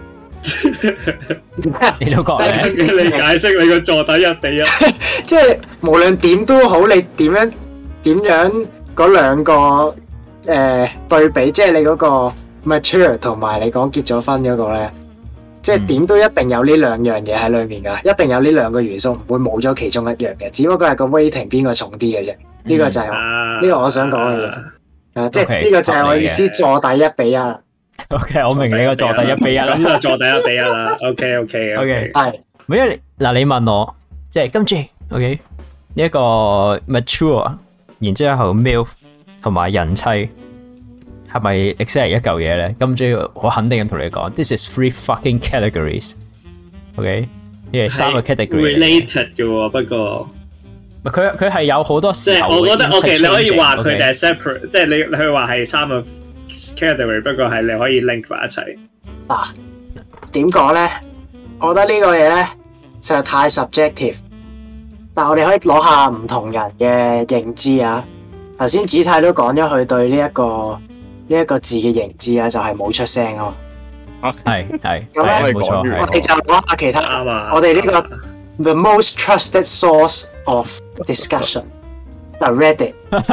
你都覺咧？ 你解釋你個坐底1:1， 即係無論點都好，你點樣嗰兩個？對比，即係你嗰個 mature 同埋你講結咗婚嗰個咧，即係點都一定有呢兩樣嘢喺裏面噶，一定有呢兩個元素，唔會冇咗其中一樣嘅，只不過係個 weighting 邊個重啲嘅啫。呢個就係呢個我想講嘅嘢，即係呢個就係我意思，坐底1:1。 OK， 我明你個坐底1:1啦， 咁就坐底1:1啦。OK， 係，因為嗱你問我，即係今次 OK 呢一個 mature， 然之後 MILF。同埋人妻係咪 exactly 一嚿嘢咧？咁最我肯定咁同你講 ，this is 3 fucking categories。OK， 呢係3個 category。related 嘅喎，不過佢係有好多時候。 我覺得 OK， 你可以話佢哋係 separate， 即係你去話係3個 category， 不過係你可以 link 埋一齊。 嗱，點講咧？我覺得呢個嘢咧實在太 subjective， 但係我哋可以攞下唔同人嘅認知啊。頭先子泰都講咗佢對呢一個字嘅認知啊，就係冇出聲啊嘛。 係咁咧， 冇錯。 我哋就攞下其他我哋呢個 the most trusted source of discussion 就 Reddit。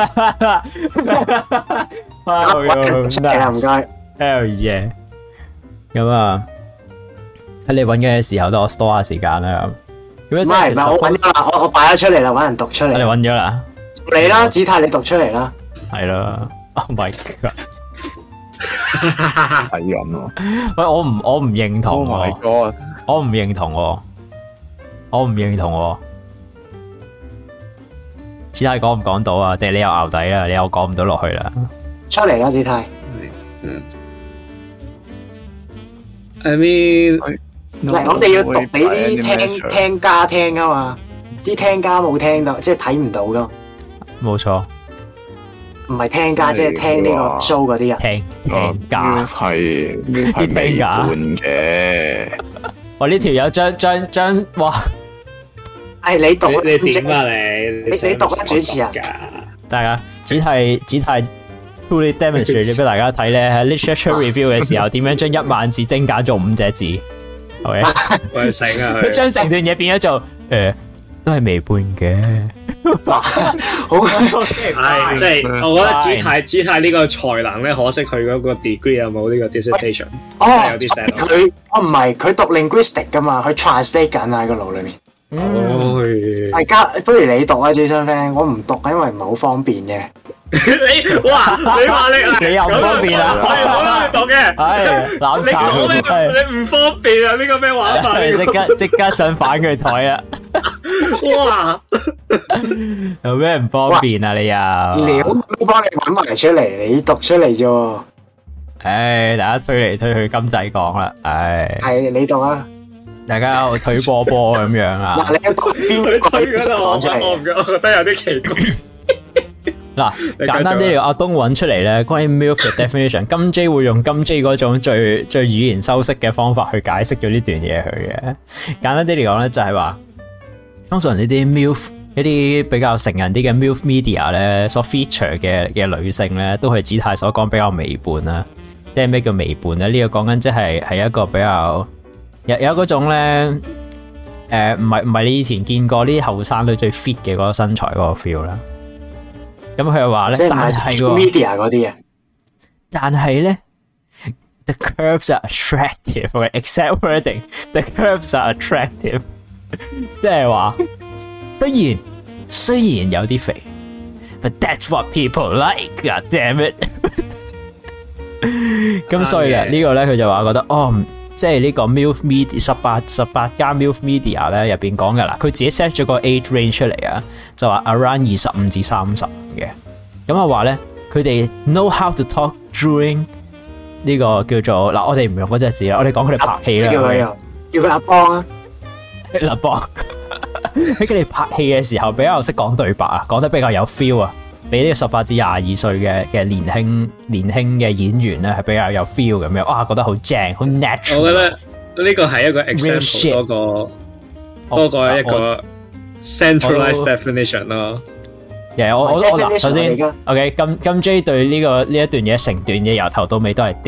唔該。 Hell yeah！ 咁啊，喺你揾嘅時候，都我 store 下時間啦。唔係，我揾咗啦，我擺咗出嚟啦，揾人讀出嚟。 你揾咗啦？ 你啦，子泰，你讀出嚟啦。 係啦 ，Oh my god！ 係人喎。 喂，我唔認同。 Oh my god！ 我唔認同喎。子泰講唔講到啊？定係你又淆底啦？你又講唔到落去啦？ 出嚟啦，子泰。 I mean， 嗱，我哋要讀俾啲聽家聽啊嘛，啲聽家冇聽到，即係睇唔到噶。冇錯， 唔係聽家，即係聽呢個 show 嗰啲人。 聽家係微半嘅。 我呢條友將哇， 你讀你點啊你讀啊主持人。 大家只係 truly demonstrate 俾大家睇咧，喺 literature review 嘅時候點樣將1萬字精簡做5隻字。OK， 喂醒啊！ 佢將成段嘢變咗做都係微半嘅。 好係，即係我覺得子泰呢個才能咧，可惜佢嗰個 degree 有冇呢個 dissertation， 有啲 sad。 佢唔係佢讀 linguistic 噶嘛，佢 translate 緊喺個腦裏面。大家不如你讀啊，Jason Fan，我唔讀，因為唔係好方便嘅。 你話你又唔方便啊？ 我冇讀嘅， 係攬炒。 你唔方便啊？呢個咩玩法？ 即刻想反佢台啊！ 哇！ 有咩唔方便啊？你又料都幫你揾埋出嚟，你讀出嚟啫。 唉，大家推嚟推去，金仔講啦。唉， 係你讀啊！ 大家我推波咁樣啊！ 嗱，你讀邊個講出嚟？ 我覺得有啲奇怪。 嗱，簡單啲，阿東揾出嚟咧，關於 MILF 嘅 definition， 金 J 會用金 J 嗰種最語言修飾嘅方法去解釋咗呢段嘢佢嘅。簡單啲嚟講咧，就係話，通常呢啲 MILF 一啲比較成人啲嘅 MILF media 咧，所 feature 嘅女性咧，都係子泰所講比較微胖啦。即係咩叫微胖咧？呢個講緊即係一個比較有嗰種咧，唔係你以前見過啲後生女最 fit 嘅嗰個身材嗰個 feel 啦。咁佢又話咧，但係 media 嗰啲啊， 但係咧 ，the curves are attractive，exact wording，the curves are attractive， 即係話雖然有啲肥 But that's what people like. God damn it！ 咁所以咧，呢個咧佢就話覺得即係呢個 MILF Media 18家 MILF Media 咧入邊講嘅啦，佢自己 set 咗個 age range 出嚟啊，就話 around 25至35嘅。咁啊話咧，佢哋 know how to talk during 呢個叫做嗱，我哋唔用嗰隻字啦，我哋講佢哋拍戲啦。 叫佢阿邦啊， 阿邦喺佢哋拍戲嘅時候比較識講對白啊，講得比較有 feel 啊，比呢個18至22歲嘅年輕嘅演員咧係比較有 feel 咁樣，哇覺得好正，好 natural。我覺得呢個係一個 example 多過一個 centralized definition 咯。 我嗱，首先 OK， 金 J 對呢一段嘢成段嘢由頭到尾都係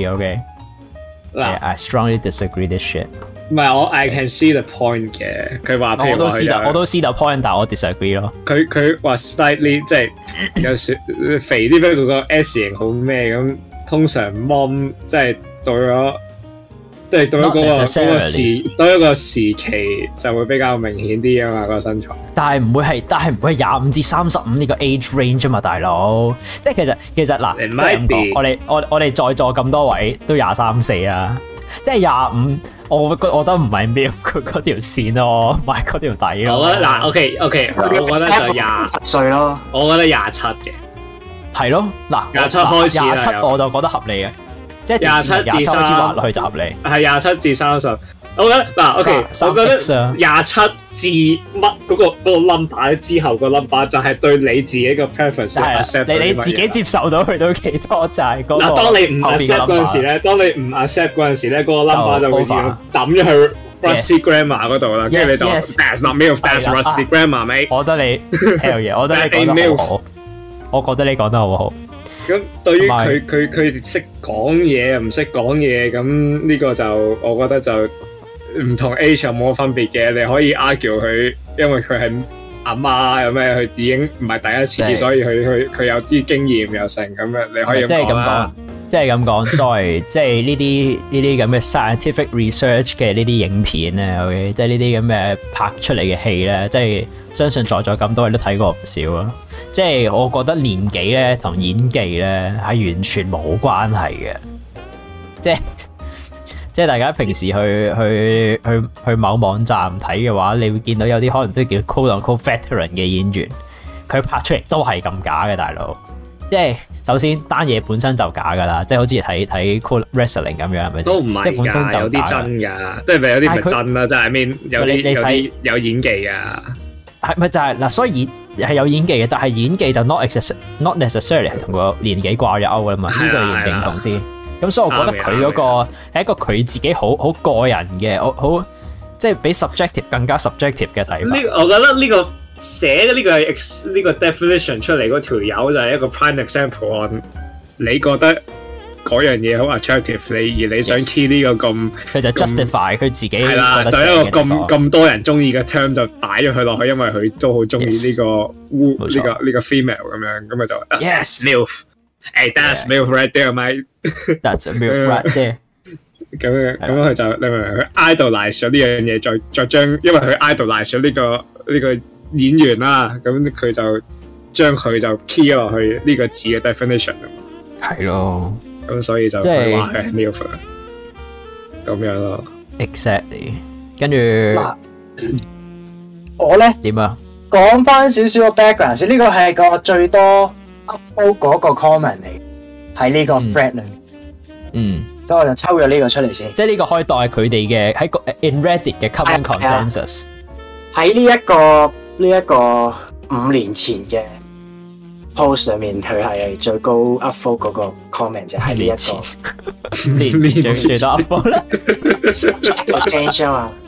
disagree，OK。I strongly disagree this shit。 唔係我 I can see the point 嘅，佢話譬如我都 see the point， 但係我 disagree 咯。佢話 slightly 即係有少肥啲，不過個 S 型好咩咁，通常 mom 即係到咗。即係到一個時期就會比較明顯啲啊嘛，個身材。但係唔會係25至35呢個 age range 啫嘛，大佬。即係其實嗱，即係咁講，我哋在座咁多位都23、24啊，即係25，我覺得唔係MILF佢嗰條線咯，唔係嗰條底咯。我覺得嗱 ，OK， 我覺得就20 歲咯。 我覺得27嘅， 係咯，嗱27開始27我就覺得合理嘅。即係27至30滑落去就合理， 係27至30。我覺得嗱 ，OK， 我覺得27至乜嗰個 number 之後個 number 就係對你自己個 preference accept 你自己接受到去到幾多就係嗰個。 嗱，當你唔 accept 嗰陣時咧，嗰個 number 就會抌咗去 Rusty Grammar 嗰度啦，跟住你就 That's not MILF, that's Rusty Grammar, mate。 我覺得你 hell yeah， 我覺得你講得好好，我覺得你講得好好。 咁對於佢識講嘢又唔識講嘢，咁呢個就我覺得就唔同 age 有冇分別嘅。你可以 argue 佢，因為佢係阿媽有咩，佢已經唔係第一次，所以佢有啲經驗又成咁樣，你可以咁講啦。 即係咁講，作為即係呢啲咁嘅 scientific research 嘅呢啲影片咧，OK， 即係呢啲咁嘅拍出嚟嘅戲咧，即係相信在座咁多位都睇過唔少啊。即係我覺得年紀咧同演技咧係完全冇關係嘅。即係大家平時去某網站睇嘅話，你會見到有啲可能都叫 quote unquote veteran 嘅演員，佢拍出嚟都係咁假嘅，大佬。即係首先單嘢本身就假噶啦，即係好似睇 cool wrestling 咁樣，係咪？ 都唔係，即係本身就有啲真㗎，即係咪有啲唔係真啦？就係面有啲有演技㗎。 係咪就係嗱？所以係有演技嘅，但係演技就 not necessarily 係同個年紀掛咗鈎㗎嘛？呢個認唔認同先？咁所以我覺得佢嗰個係一個佢自己好個人嘅，好即係比 subjective 更加 subjective 嘅睇法。 我覺得呢個寫嘅呢個 definition 出嚟嗰條友就係一個 prime example on 你覺得嗰樣嘢好 attractive， 而你想 key 呢個咁，佢就 justify 佢自己係啦，就一個咁多人中意嘅 term 就擺咗佢落去，因為佢都好中意呢個呢個 female 咁樣，咁咪就 yes MILF， hey that's MILF right there mate， that's MILF right there。 咁佢就你明唔明？佢 idolize 咗呢樣嘢，再將因為佢 idolize 咗呢個演員啦，咁佢就將佢就 key 落去呢個字嘅 definition 啊嘛。 係咯。 咁所以就佢話佢係 MILF 咁樣咯。 Exactly。跟住我咧點啊？ 講翻少少個 background 先，呢個係個最多 upvote 嗰個 comment 嚟，喺呢個 thread 裏面。所以我就抽咗呢個出嚟先。即係呢個可以當係佢哋嘅喺個 in Reddit 嘅 common consensus。喺呢一個5年前嘅 post 上面，佢係最高 upvote 嗰個 comment 就係呢一個。5年前最多 upvote 啦。change 啊嘛。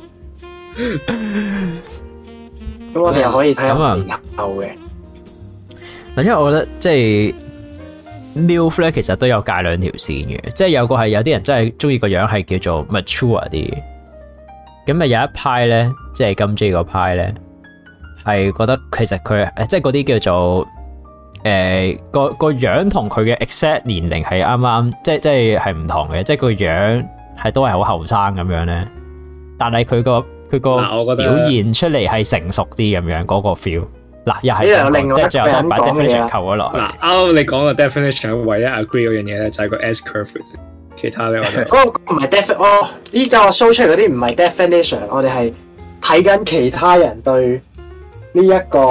咁我哋又可以睇下5年後嘅。嗱，因為我覺得即係 MILF 咧，其實都有界兩條線嘅，即係有啲人真係中意個樣係叫做 mature 啲，咁啊有一派咧，即係金 J 嗰派咧，係覺得其實佢即係嗰啲叫做個樣同佢嘅 exact 年齡係啱啱，即係唔同嘅，即係個樣係都係好後生咁樣咧，但係佢個表現出嚟係成熟啲咁樣嗰個 feel。 嗱，又係呢度有另外即係最後都係擺一個人講嘅 definition 嘢扣咗落去。 嗱，啱啱你講嘅 definition，唯一 agree 嗰樣嘢咧就係個 S curve，其他咧我哋嗰個唔係 definition，依家我 show 出嚟嗰啲唔係 definition，我哋係睇緊其他人對呢一個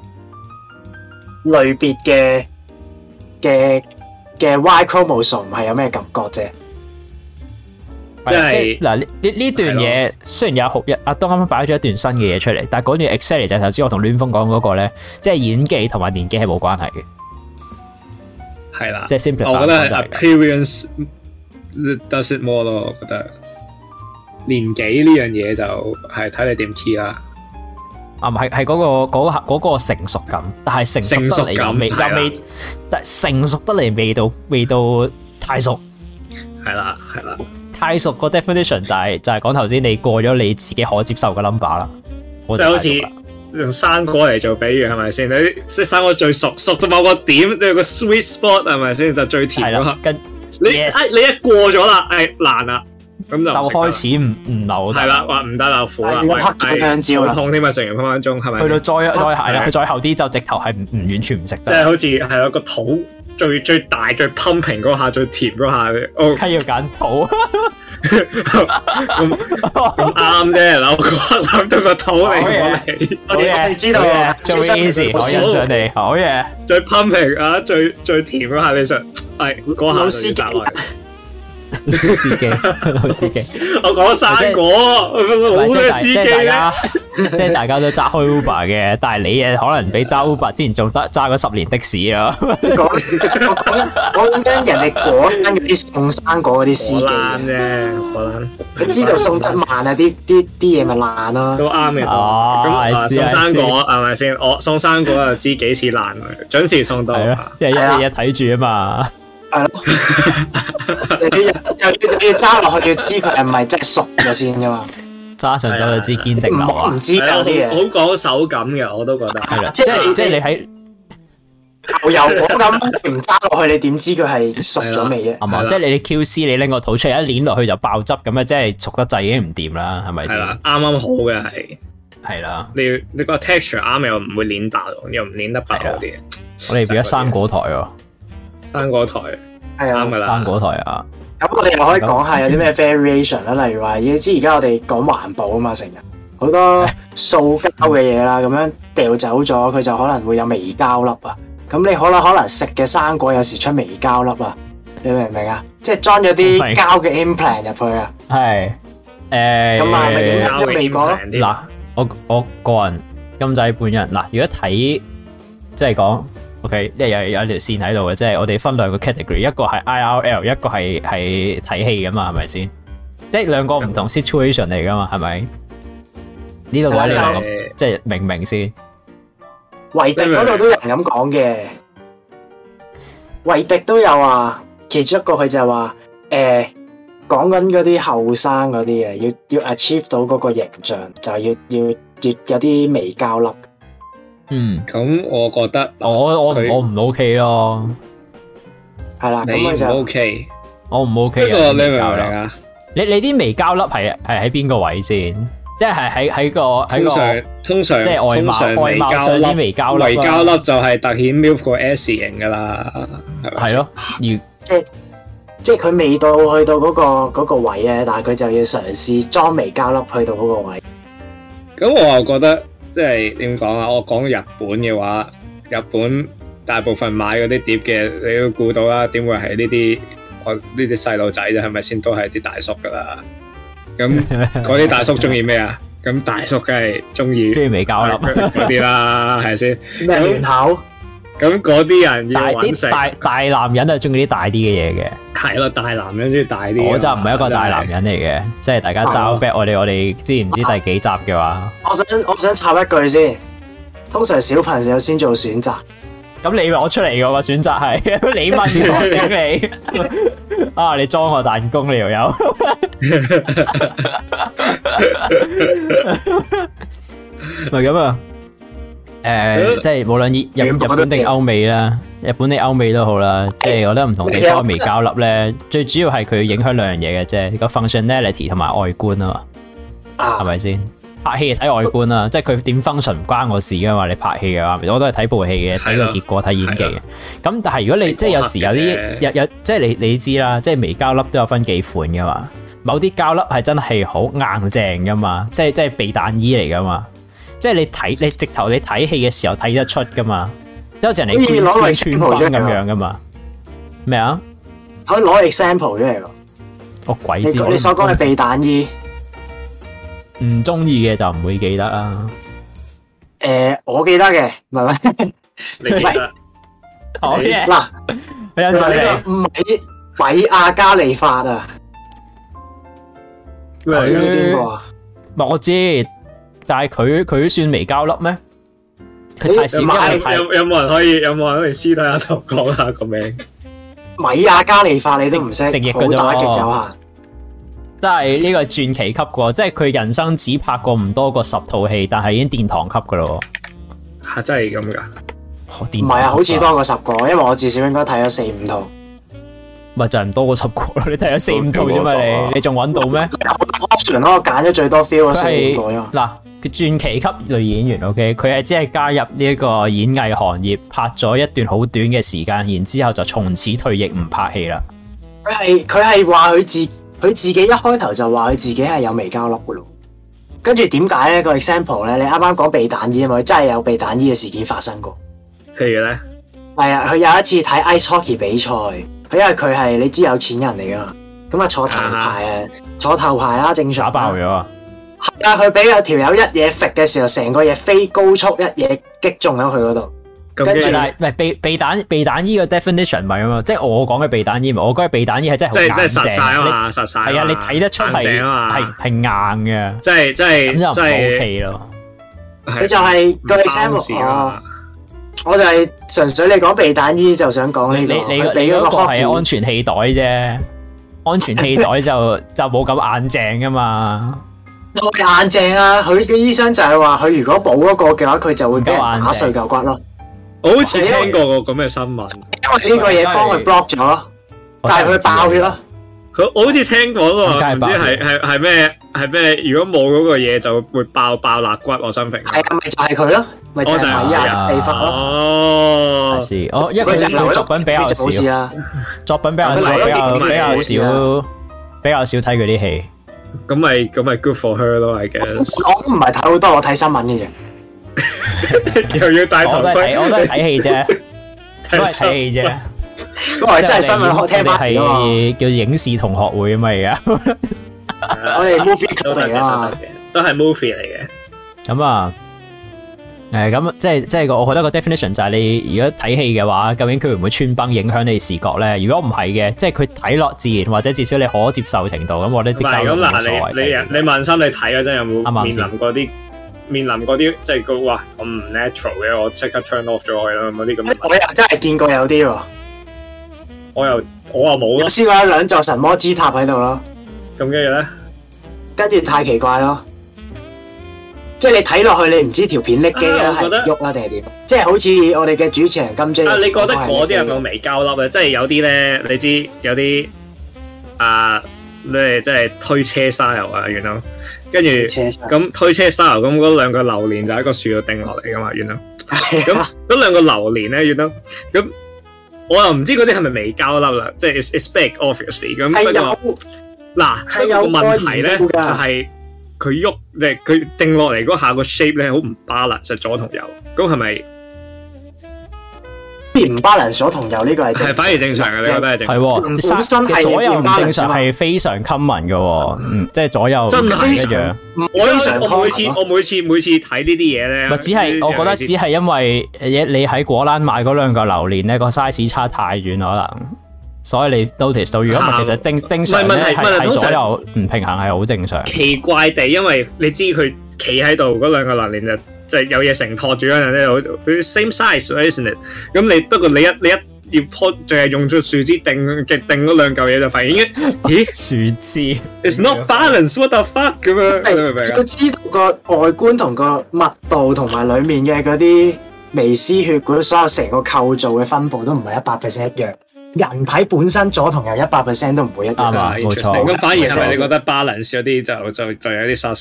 類別嘅 Y chromosome 係有咩感覺啫？ 即係嗱呢段嘢雖然有阿東啱啱擺咗一段新嘅嘢出嚟，但係嗰段 exactly 就係頭先我同亂風講嗰個咧，即係演技同埋年紀係冇關係嘅。 係啦， 即係 simplify 我覺得係 appearance does it more 咯，我覺得年紀呢樣嘢就係睇你點 key 啦。 啊，係嗰個成熟感，但係成熟得嚟又未，但成熟得嚟未到太熟。 係啦， 太熟個 definition 就係講頭先你過咗你自己可接受嘅 number 啦。 即係好似用生果嚟做比喻係咪先？你即係生果最熟到某個點，你有個 sweet spot 係咪先？就最甜嗰刻。你一過咗啦，爛啦。咁就開始唔流， 係啦，話唔得啦，苦啦， 黑咗香蕉啦， 痛添啊，成日分分鐘係咪？ 去到再係啦，佢再後啲就直頭係唔完全唔食得， 即係好似係有個肚最大最 pumping 嗰下最甜嗰下， 梗係要揀肚， 咁啱啫，我諗到個肚嚟講你， 我哋知道嘅， 做 easy 我欣賞你，好嘢， 最 pumping 啊，最甜嗰下你實係嗰下就要摘落嚟。 老司機， 我講生果，好咩司機咧？ 即係大家都揸開 Uber 嘅，但係你可能比揸 Uber 之前仲得揸咗10年的士啊！ 我講緊人哋果欄嗰啲送生果嗰啲司機啫，果欄佢知道送得慢啊，啲嘢咪爛咯。 都啱嘅。咁送生果係咪先？我送生果就知幾時爛，準時送到。 因為一日睇住啊嘛。 係咯，又要揸落去，要知佢係咪真係熟咗先噶嘛？ 揸上手就知堅定流啊！ 唔知嗰啲嘢好講手感嘅，我都覺得係啦。即係你喺牛油果咁唔揸落去，你點知佢係熟咗未啫？ 係嘛？即係你 QC 你拎個肚出嚟一捏落去就爆汁咁啊！即係熟得滯已經唔掂啦，係咪先？ 係啦，啱啱好嘅係啦。 你個 texture 啱又唔會捏爆，又唔捏得爆嗰啲。 我哋變咗生果台喎。 生果台係啱噶啦， 生果台啊！ 咁我哋又可以講下有啲咩 variation 啦，例如話，要知而家我哋講環保啊嘛，成日好多塑膠嘅嘢啦，咁樣掉走咗，佢就可能會有微膠粒啊。咁你可能食嘅生果有時出微膠粒啊，你明唔明啊？即係裝咗啲膠嘅 implant 入去啊。係咁係咪影響咗味覺咯？ 嗱，我個人金仔本人嗱，如果睇即係講。OK， 有條線喺度嘅，即係我哋分兩個 category， 一個係 IRL， 一個係睇戲噶嘛，係咪先？即係兩個唔同 situation 嚟噶嘛，係咪？呢度位你話即係明唔明先？ 維迪嗰度都有人咁講嘅，維迪都有話，其中一個佢就係話，講緊嗰啲後生嗰啲嘅，要 achieve 到嗰個形象，就要有啲微膠粒。 咁我覺得我唔 OK 咯， 係啦， 你唔 OK， 我唔 OK。 不過你明唔明啊？ 你啲微膠粒係喺邊個位先？即係喺個通常即係外貌上啲微膠粒， 微膠粒就係突顯 milk 個 S 型噶啦， 係咯， 即係佢未到去到嗰個位咧，但係佢就要嘗試裝微膠粒去到嗰個位。 咁我又覺得。即係點講啊？我講日本嘅話，日本大部分買嗰啲碟嘅，你都估到啦。點會係呢啲？我呢啲細路仔啫，係咪先？都係啲大叔噶啦。咁嗰啲大叔中意咩啊？咁大叔梗係中意微膠粒嗰啲啦，係先？ 咩面口？ 咁嗰啲人要揾食， 大男人係中意啲大啲嘅嘢嘅。係咯，大男人中意大啲。 我就唔係一個大男人嚟嘅，即係大家 down back 我哋知唔知第幾集嘅話？ 我想插一句先，通常小朋友先做選擇。咁你攞出嚟嘅個選擇係你問我定你啊？你裝我彈弓你又有？唔係咁啊！即係無論日本定歐美啦，日本定歐美都好啦，即係我覺得唔同地方微膠粒咧，最主要係佢影響兩樣嘢嘅啫，個 functionality 同埋外觀啊嘛，係咪先？ 拍戲睇外觀啦，即係佢點 function 唔關我事噶嘛。你拍戲嘅話，我都係睇部戲嘅，睇個結果，睇演技嘅。咁但係如果你即係有時有啲有即係你知啦，即係微膠粒都有分幾款噶嘛。某啲膠粒係真係好硬淨噶嘛，即係避彈衣嚟噶嘛。即係你直頭你睇戲嘅時候睇得出噶嘛，即係好似人哋攞嚟穿幫咁樣噶嘛。咩啊？ 可以攞 example 出嚟喎。 我鬼知你所講嘅避彈衣。 唔中意嘅就唔會記得啦。 我記得嘅，唔係咩？ 你記得？ 好嘅。 嗱， 呢個米亞加利法啊，知邊個啊？ 唔係我知，但係佢算微膠粒咩？佢太少有冇人可以私底下同講下個名？ 米亞加利法你都唔識， 直譯好打極有限。 真係呢個係傳奇級嘅，即係佢人生只拍過唔多過10套戲，但係已經殿堂級嘅咯。 嚇，真係咁㗎？ 唔係啊，好似多過10個，因為我至少應該睇咗4-5套。 咪就係唔多過10個咯，你睇咗4-5套啫嘛，你仲揾到咩 ？option 咯，我揀咗最多 feel 嗰4-5個啫。 嗱，佢傳奇級女演員 ，OK， 佢係只係加入呢一個演藝行業，拍咗一段好短嘅時間，然之後就從此退役唔拍戲啦。 佢係話佢自己一開頭就話佢自己係有微膠粒嘅咯，跟住點解咧？個 example 咧，你啱啱講避彈衣啊嘛，佢真係有避彈衣嘅事件發生過。 譬如咧， 係啊，佢有一次睇 ice hockey 比賽，佢因為佢係你知有錢人嚟噶嘛，咁啊坐頭排啦，正常。打爆咗啊！ 係啊，佢俾有條友一嘢揈嘅時候，成個嘢飛高速一嘢擊中咗佢嗰度。跟住， 唔係避彈衣嘅 definition 唔係啊嘛，即係我講嘅避彈衣，我講嘅避彈衣係真係好硬淨， 即係實晒啊嘛，實晒係啊，你睇得出係硬嘅， 即係咁就唔 OK 咯。 佢就係個 example，我就係純粹你講避彈衣就想講呢個， 你嗰個係安全氣袋啫，安全氣袋就冇咁硬淨噶嘛。 硬淨啊！佢嘅醫生就係話，佢如果補嗰個嘅話，佢就會俾人打碎嚿骨咯。 我好似聽過個咁嘅新聞， 因為呢個嘢幫佢 block 咗，但係佢爆血咯。 我好似聽過個，唔知係咩？如果冇嗰個嘢就會爆肋骨我心平。 係啊，咪就係佢咯，咪就係米亞地方咯。 哦， 係因為佢作品比較少，作品比較少睇佢啲戲。 咁咪 good for her 咯，I guess。 我都唔係睇好多，我睇新聞嘅啫。 又要戴頭盔， 我都係睇戲啫，都係睇戲啫。 不過真係新聞，我聽翻係叫影視同學會啊嘛，而家我哋 movie club 嚟啊， 都係 movie 嚟嘅。 咁啊，咁即係我覺得個 definition 就係你如果睇戲嘅話，究竟佢會唔會穿崩影響你視覺咧？如果唔係嘅，即係佢睇落自然或者至少你可接受程度，咁我覺得啲交流冇所謂。 你問心，你睇嗰陣有冇面臨嗰啲即係個哇咁唔 natural 嘅，我即刻 turn off 咗佢啦，嗰啲咁。 我又真係見過有啲喎， 我又冇咯。 試過有兩座神魔之塔喺度咯。 咁跟住咧， 跟住太奇怪咯，即係你睇落去，你唔知條片拎機啦，係喐啦定係點？即係好似我哋嘅主持人金 J。 你覺得嗰啲係咪微膠粒咧？即係有啲咧，你知有啲你即係推車 style 啊，原來跟住咁推車 style 咁嗰兩個榴蓮就喺個樹度掟落嚟噶嘛，原來咁嗰兩個榴蓮咧，原來咁我又唔知嗰啲係咪微膠粒啦，即係 it's big obviously 咁。不過嗱，個問題咧就係佢喐，即係佢掟落嚟嗰下個 shape 咧好唔 balance，實左同右，咁係咪？ 唔 balance 左同右呢個係反而正常嘅，你覺得係正常？ 係本身係左右唔正常係非常 common 嘅，即係左右真係一樣。 我每次睇呢啲嘢咧， 只係我覺得只係因為你喺果欄買嗰兩個榴蓮咧個 size 差太遠可能，所以你 notice 到。如果唔係，其實正常咧係左右唔平衡係好正常。 奇怪地，因為你知佢企喺度嗰兩個榴蓮就係有嘢承托住嗰陣咧，佢 same size，isn't it？ 咁你不過你一要鋪，淨係用咗樹枝定嗰兩嚿嘢就發現咦樹枝 ，it's not balance，what the fuck 咁樣，你明唔明啊？ 都知道個外觀同個密度同埋裡面嘅嗰啲微絲血管所有成個構造嘅分佈都唔係100% 一樣。人體本身左同右100% 都唔會一樣。 啱啊，冇錯。 咁反而係咪你覺得 balance 嗰啲就有啲 sus 啊？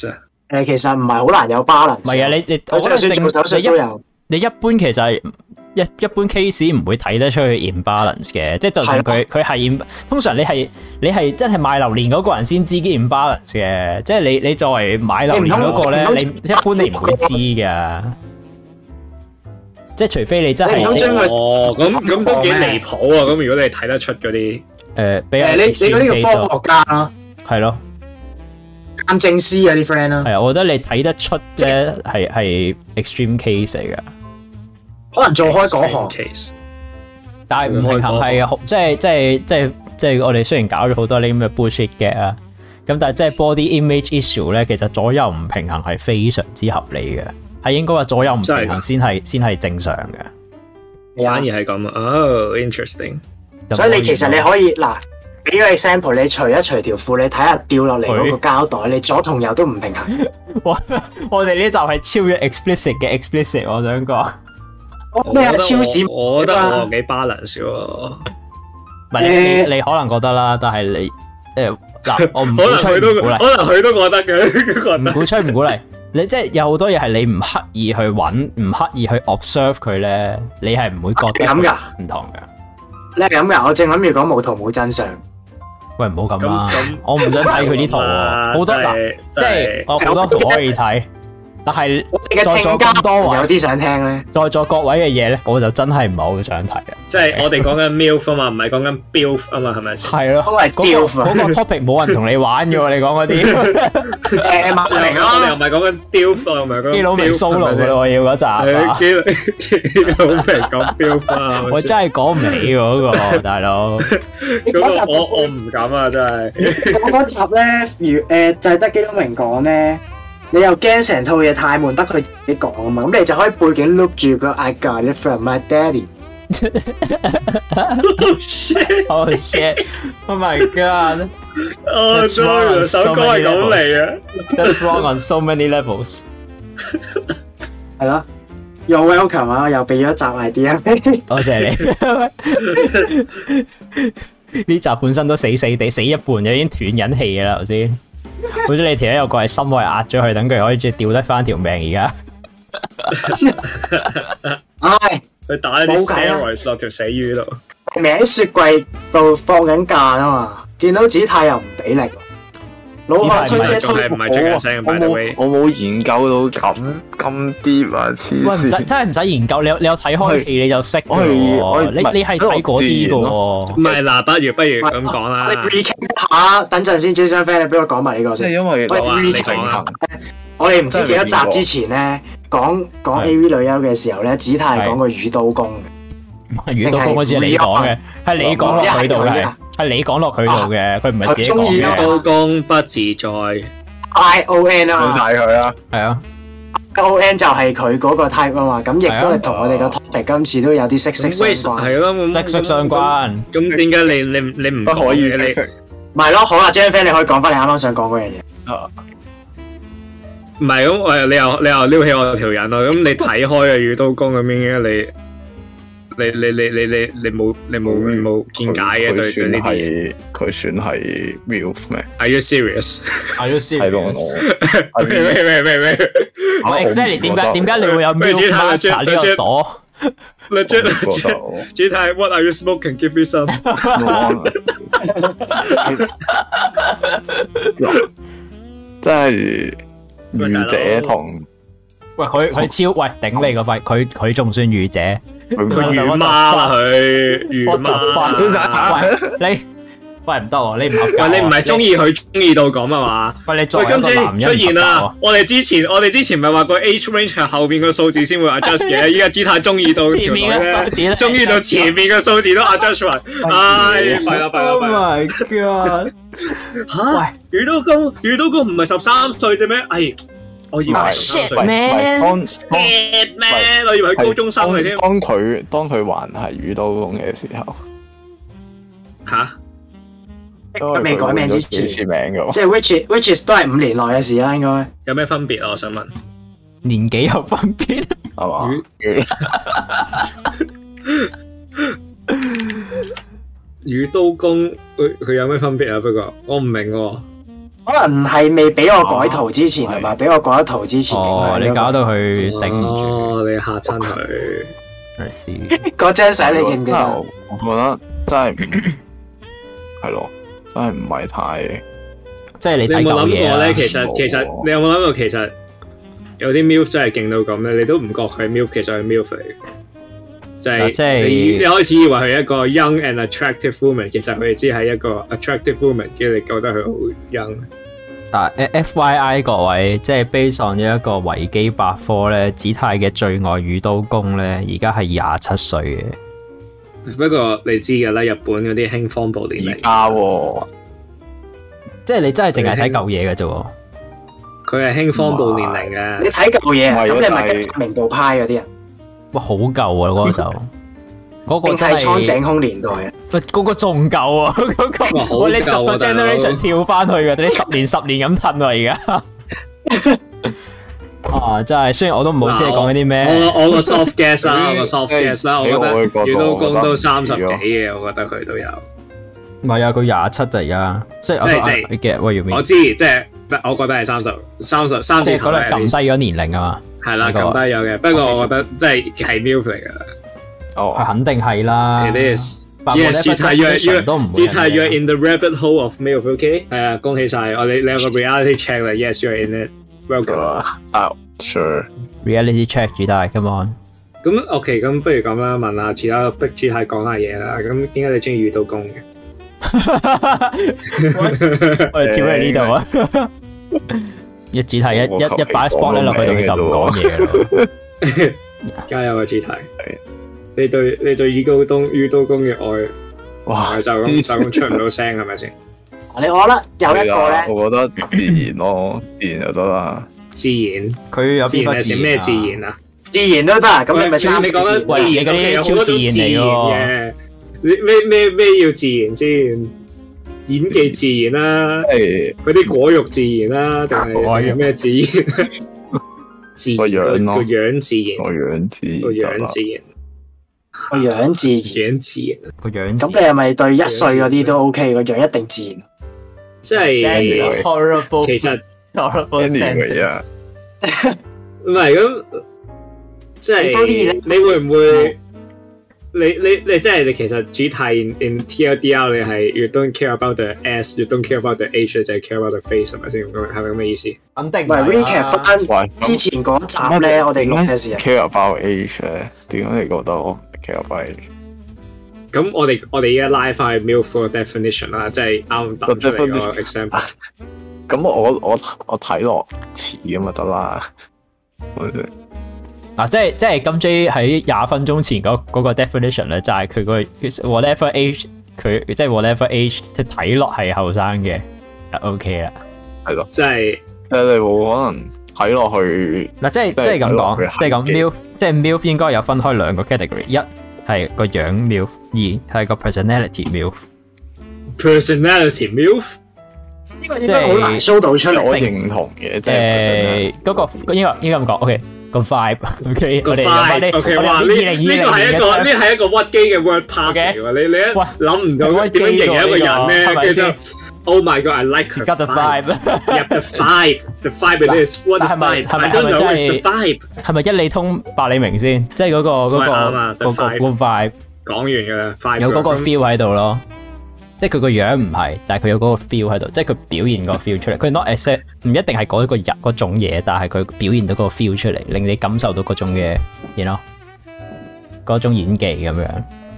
其實唔係好難有 balance。 唔係啊，你佢就算做手術都有。 你一般其實係一般 case 唔會睇得出去 imbalance 嘅，即係就算佢係通常你係真係買榴蓮嗰個人先知啲 imbalance 嘅，即係你作為買榴蓮嗰個咧，你一般你唔會知㗎。即係除非你真係咁都幾離譜啊！咁如果你睇得出嗰啲比較你嗰啲叫科學家啦， 係咯， 鑑證師啊啲 friend 啦， 係啊，我覺得你睇得出咧係 extreme case 嚟㗎。 可能做開嗰行 case， 但係唔平衡係即係我哋雖然搞咗好多呢咁嘅 bullshit 嘅啊，咁但係即係 body image issue 咧，其實左右唔平衡係非常之合理嘅，係應該話左右唔平衡先係正常嘅。 反而係咁啊！哦 ，interesting。 所以你其實你可以嗱，俾個 example，你除一除條褲，你睇下掉落嚟嗰個膠袋，你左同右都唔平衡。 我哋呢集係超越 explicit 嘅 explicit， 我想講。 咩啊？超市我覺得我幾 balance 喎。 唔係你可能覺得啦，但係你嗱，我唔鼓吹唔鼓勵， 可能佢都覺得嘅， 唔鼓吹唔鼓勵。你即係有好多嘢係你唔刻意去揾，唔刻意去 observe 佢咧，你係唔會覺得咁噶，唔同噶。 你係咁噶？我正諗住講冇圖冇真相。喂， 唔好咁啦，我唔想睇佢啲圖喎，好多嗱，即係我好多圖可以睇。但係在座咁多位， 有啲想聽咧。在座各位嘅嘢咧，我就真係唔係好想睇嘅。 即係我哋講緊 MILF 啊嘛，唔係講緊 BILF 啊嘛，係咪先？ 係咯，嗰個 topic 冇人同你玩嘅喎，你講嗰啲。 我哋又唔係講緊 BILF 啊，唔係講基佬明 solo 嘅我要嗰集。 基佬明講 BILF 啊！ 我真係講唔起嗰個大佬。 嗰個我唔敢啊，真係。 嗰集咧，就係得基佬明講咧。你又驚成套嘢太悶，得佢自己講啊嘛，咁你就可以背景碌住個 I got it from my daddy。 Oh shit! Oh shit! Oh my god! 哦，首歌係咁嚟嘅。 That's wrong on so many levels。 係咯，You're welcome 啊，又俾咗集 idea。多謝你。呢集本身都死地，死一半，已經斷緊氣嘅啦，頭先。好似你條友有個係心位壓咗佢，等佢可以即係吊得翻條命而家。 唉， 佢打啲 steroids 落條死魚度。 明喺雪櫃度放緊假啊嘛，見到子太又唔俾力，老漢吹車推唔係最緊聲嘅。 我冇研究到咁 deep 啊！ 喂，唔使真係唔使研究，你有睇開戲你就識嘅喎。你係睇嗰啲嘅喎。 唔係嗱，不如咁講啦。 你 recap 下，等陣先，Jason friend，你俾我講埋呢個先。 即係因為我哋唔知幾多集之前咧，講 AV 女優嘅時候咧，子太係講過魚刀功嘅。 魚刀功嗰次係你講嘅，係你講落佢度嘅，係你講落佢度嘅，佢唔係自己講嘅。 魚刀功不自在。 ION 啊嘛。 睇佢啊。係啊。 ION 就係佢嗰個 type 啊嘛，咁亦都係同我哋個 topic 今次都有啲息息相關。 係咯， 息息相關。 咁點解你唔可以你？ 唔係咯，好啦 Jason friend，你可以講翻你啱啱想講嗰樣嘢。 唔係咁，你又撩起我條癮咯。咁你睇開嘅魚刀功咁樣你冇見解嘅對住呢啲嘢。 佢算係 MILF 咩 ？Are you serious？ Are you serious？ 係咯， 咩？ 我 exactly 點解你會有 MILF master 呢個朵 ？Legit What are you smoking? Give me some。 即係御姐同喂佢超喂頂你個肺，佢仲算御姐。 佢魚媽啦，佢魚媽。 喂你喂唔得喎，你唔合格。 喂你唔係中意佢中意到咁啊嘛？ 喂你作為一個男人出現啦！我哋之前咪話個 age range 係後邊個數字先會 adjust 嘅，依家姿態中意到前面嘅數字，中意到前面嘅數字都 adjust 埋。唉，弊啦 ！Oh my god！ 嚇，魚刀功唔係13歲啫咩？哎。我以為 shit man， 我以為係高中生嚟添。 當佢還係魚刀功嘅時候， 吓？ 佢未改名之前， 即係 which is 都係5年內嘅事啦，應該。 有咩分別啊？我想問。 年紀有分別係嘛？ 魚刀功佢有咩分別啊？不過我唔明喎。 可能係未俾我改圖之前係嘛？俾我改咗圖之前你搞到佢頂唔住， 你嚇親佢。 嗰張相你記唔記得？ 我覺得真係係咯，真係唔係太。 即係你有冇諗過咧？其實你有冇諗過其實有啲 MILF 真係勁到咁咧？你都唔覺佢係 MILF，其實係 MILF 嚟嘅。就係你開始以為佢係一個 young and attractive woman， 其實佢只係一個 attractive woman， 跟住你覺得佢好 young。 但 FYI 各位，即係 based on 咗一個維基百科咧，子泰嘅最愛宇都宮咧，而家係27歲嘅。 不過你知㗎啦，日本嗰啲興荒暴年齡。 即係你真係淨係睇舊嘢嘅啫。 佢係興荒暴年齡嘅。 你睇舊嘢，咁你咪跟明道派嗰啲人。 哇，好舊啊！嗰個就嗰個真係蒼井空年代啊！ 喂，嗰個仲舊啊！嗰個你逐個 generation 跳翻去嘅，你10年咁褪啊！而家啊，真係雖然我都唔好知你講緊啲咩。 我個 soft guess 啦，我個 soft guess 啦，我覺得宇都宮都30幾嘅，我覺得佢都有。 唔係啊，佢27就而家，即係我知，即係我覺得係30字頭咧，撳低咗年齡啊嘛。 係啦，撳低咗嘅。不過我覺得即係 MILF 嚟噶啦。 哦，佢肯定係啦。 It is. Yes, you're in the rabbit hole of MILF. 係啊，恭喜晒！你有個 reality check 啦。Yes, you're in it. Welcome. Sure. Reality check 主題 ，come on。 咁 OK， 咁不如咁啦，問下其他逼主題講下嘢啦。咁點解你中意宇都宮嘅？ 我哋跳喺呢度啊！一主題一擺 spot 咧落去，佢就唔講嘢啦。 加油啊！主題，你對宇都宮嘅愛，哇！就咁出唔到聲係咪先？ 我覺得有一個咧， 我覺得自然咯，自然就得啦。 自然， 佢有邊個自然？ 咩自然啊？ 自然都得，咁你咪你講緊自然嗰啲超自然嚟嘅。你咩要自然先？演技自然啦，嗰啲果肉自然啦，定係咩自然？ 個樣咯， 個樣自然， 個樣自然， 個樣自然， 個樣。 咁你係咪對1歲嗰啲都 OK？個樣一定自然。 即係 horrible， 其實 horrible sentence。 唔係咁，即係你會唔會？你即係你其實主題 in TLDR 你係 you don't care about the ass，you don't care about the age， 就係 care about the face 係咪先？係咪咁嘅意思？ 肯定唔係 recap 翻之前嗰集咧，我哋錄嘅時候 care about age 咧，點解你覺得我 care about age？ 咁我哋而家拉翻去 MILF 個 definition 啦，即係啱答出嚟個 example。 咁我睇落似咁就得啦。 嗱，即係金 J 喺20分鐘前嗰個 definition 咧，就係佢個 whatever age， 佢即係 whatever age， 即係睇落係後生嘅，就 OK 啦。 係咯， 即係你冇可能睇落去。 嗱，即係咁講，即係咁 MILF， 即係 MILF 應該有分開2個 category， 一係個樣 MILF， 二係個 personality MILF。personality MILF 呢個應該好難 show 到出嚟。 我認同嘅，即係嗰個應該咁講 ，OK。個 vibe，OK， 個 vibe，OK， 哇！呢個係一個屈機嘅 word pass 嚟喎，你一諗唔到點樣形容一個人咧，跟住就 Oh my God，I like her vibe，the vibe it is what is vibe？I don't know what's the vibe？ 係咪一理通百理明先？即係嗰個 vibe 講完㗎啦，vibe 有嗰個 feel 喺度咯。即係佢個樣唔係，但係佢有嗰個 feel 喺度，即係佢表現個 feel 出嚟。佢 not accept 唔一定係嗰一個人嗰種嘢，但係佢表現到嗰個 feel 出嚟，令你感受到嗰種嘅，you know，嗰種演技咁樣。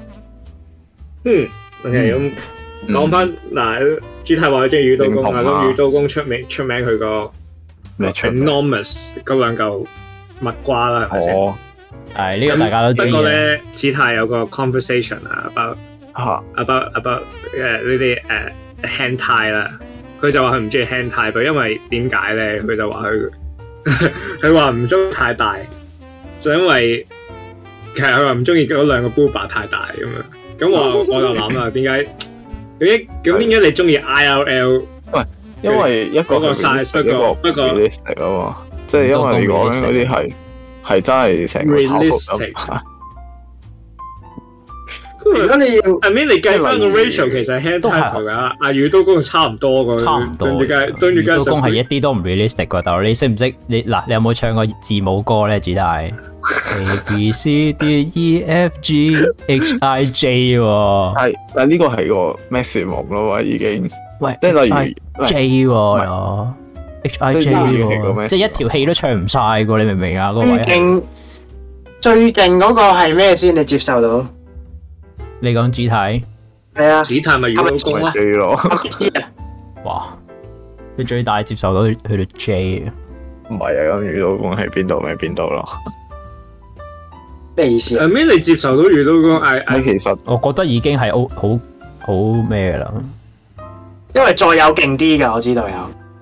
OK， 咁講翻嗱，主題話佢中意宇都宮啊，咁宇都宮出名佢個 enormous 嗰兩嚿蜜瓜啦，係咪先？ 係呢個大家都知。 不過咧，主題有個 conversation 啊，about 呢啲hentai 啦，佢就話佢唔中意 hentai，因為點解咧？佢就話佢話唔中意太大，就因為其實佢話唔中意嗰兩個 booba 太大咁樣。咁我就諗啦，點解你中意 IRL？ 喂， 因為一個 size， 不過 realistic 啊嘛，即係因為你講嗰啲係真係成個 realistic。 如果你要 I mean 你計翻個 ratio 其實 hand title 噶，阿宇都公差唔多個， 差唔多。宇都公係一啲都唔 realistic 噶，但係你識唔識？你有冇唱過字母歌咧？主大 A B C D E F G H I J 喎。 係，但呢個係個 maximum 咯，已經。 喂， 即係例如 J 喎，H I J 喎，即係一條氣都唱唔晒噶，你明唔明啊？嗰位最勁嗰個係咩先？你接受到？ 你講主體係啊， 主體咪宇都公咯。 哇！你最大接受到去到 J 唔係啊，咁宇都公喺邊度咪邊度咯。 咩意思啊？ I mean 你接受到宇都公， 你其實我覺得已經係好咩噶啦。 因為再有勁啲噶，我知道有。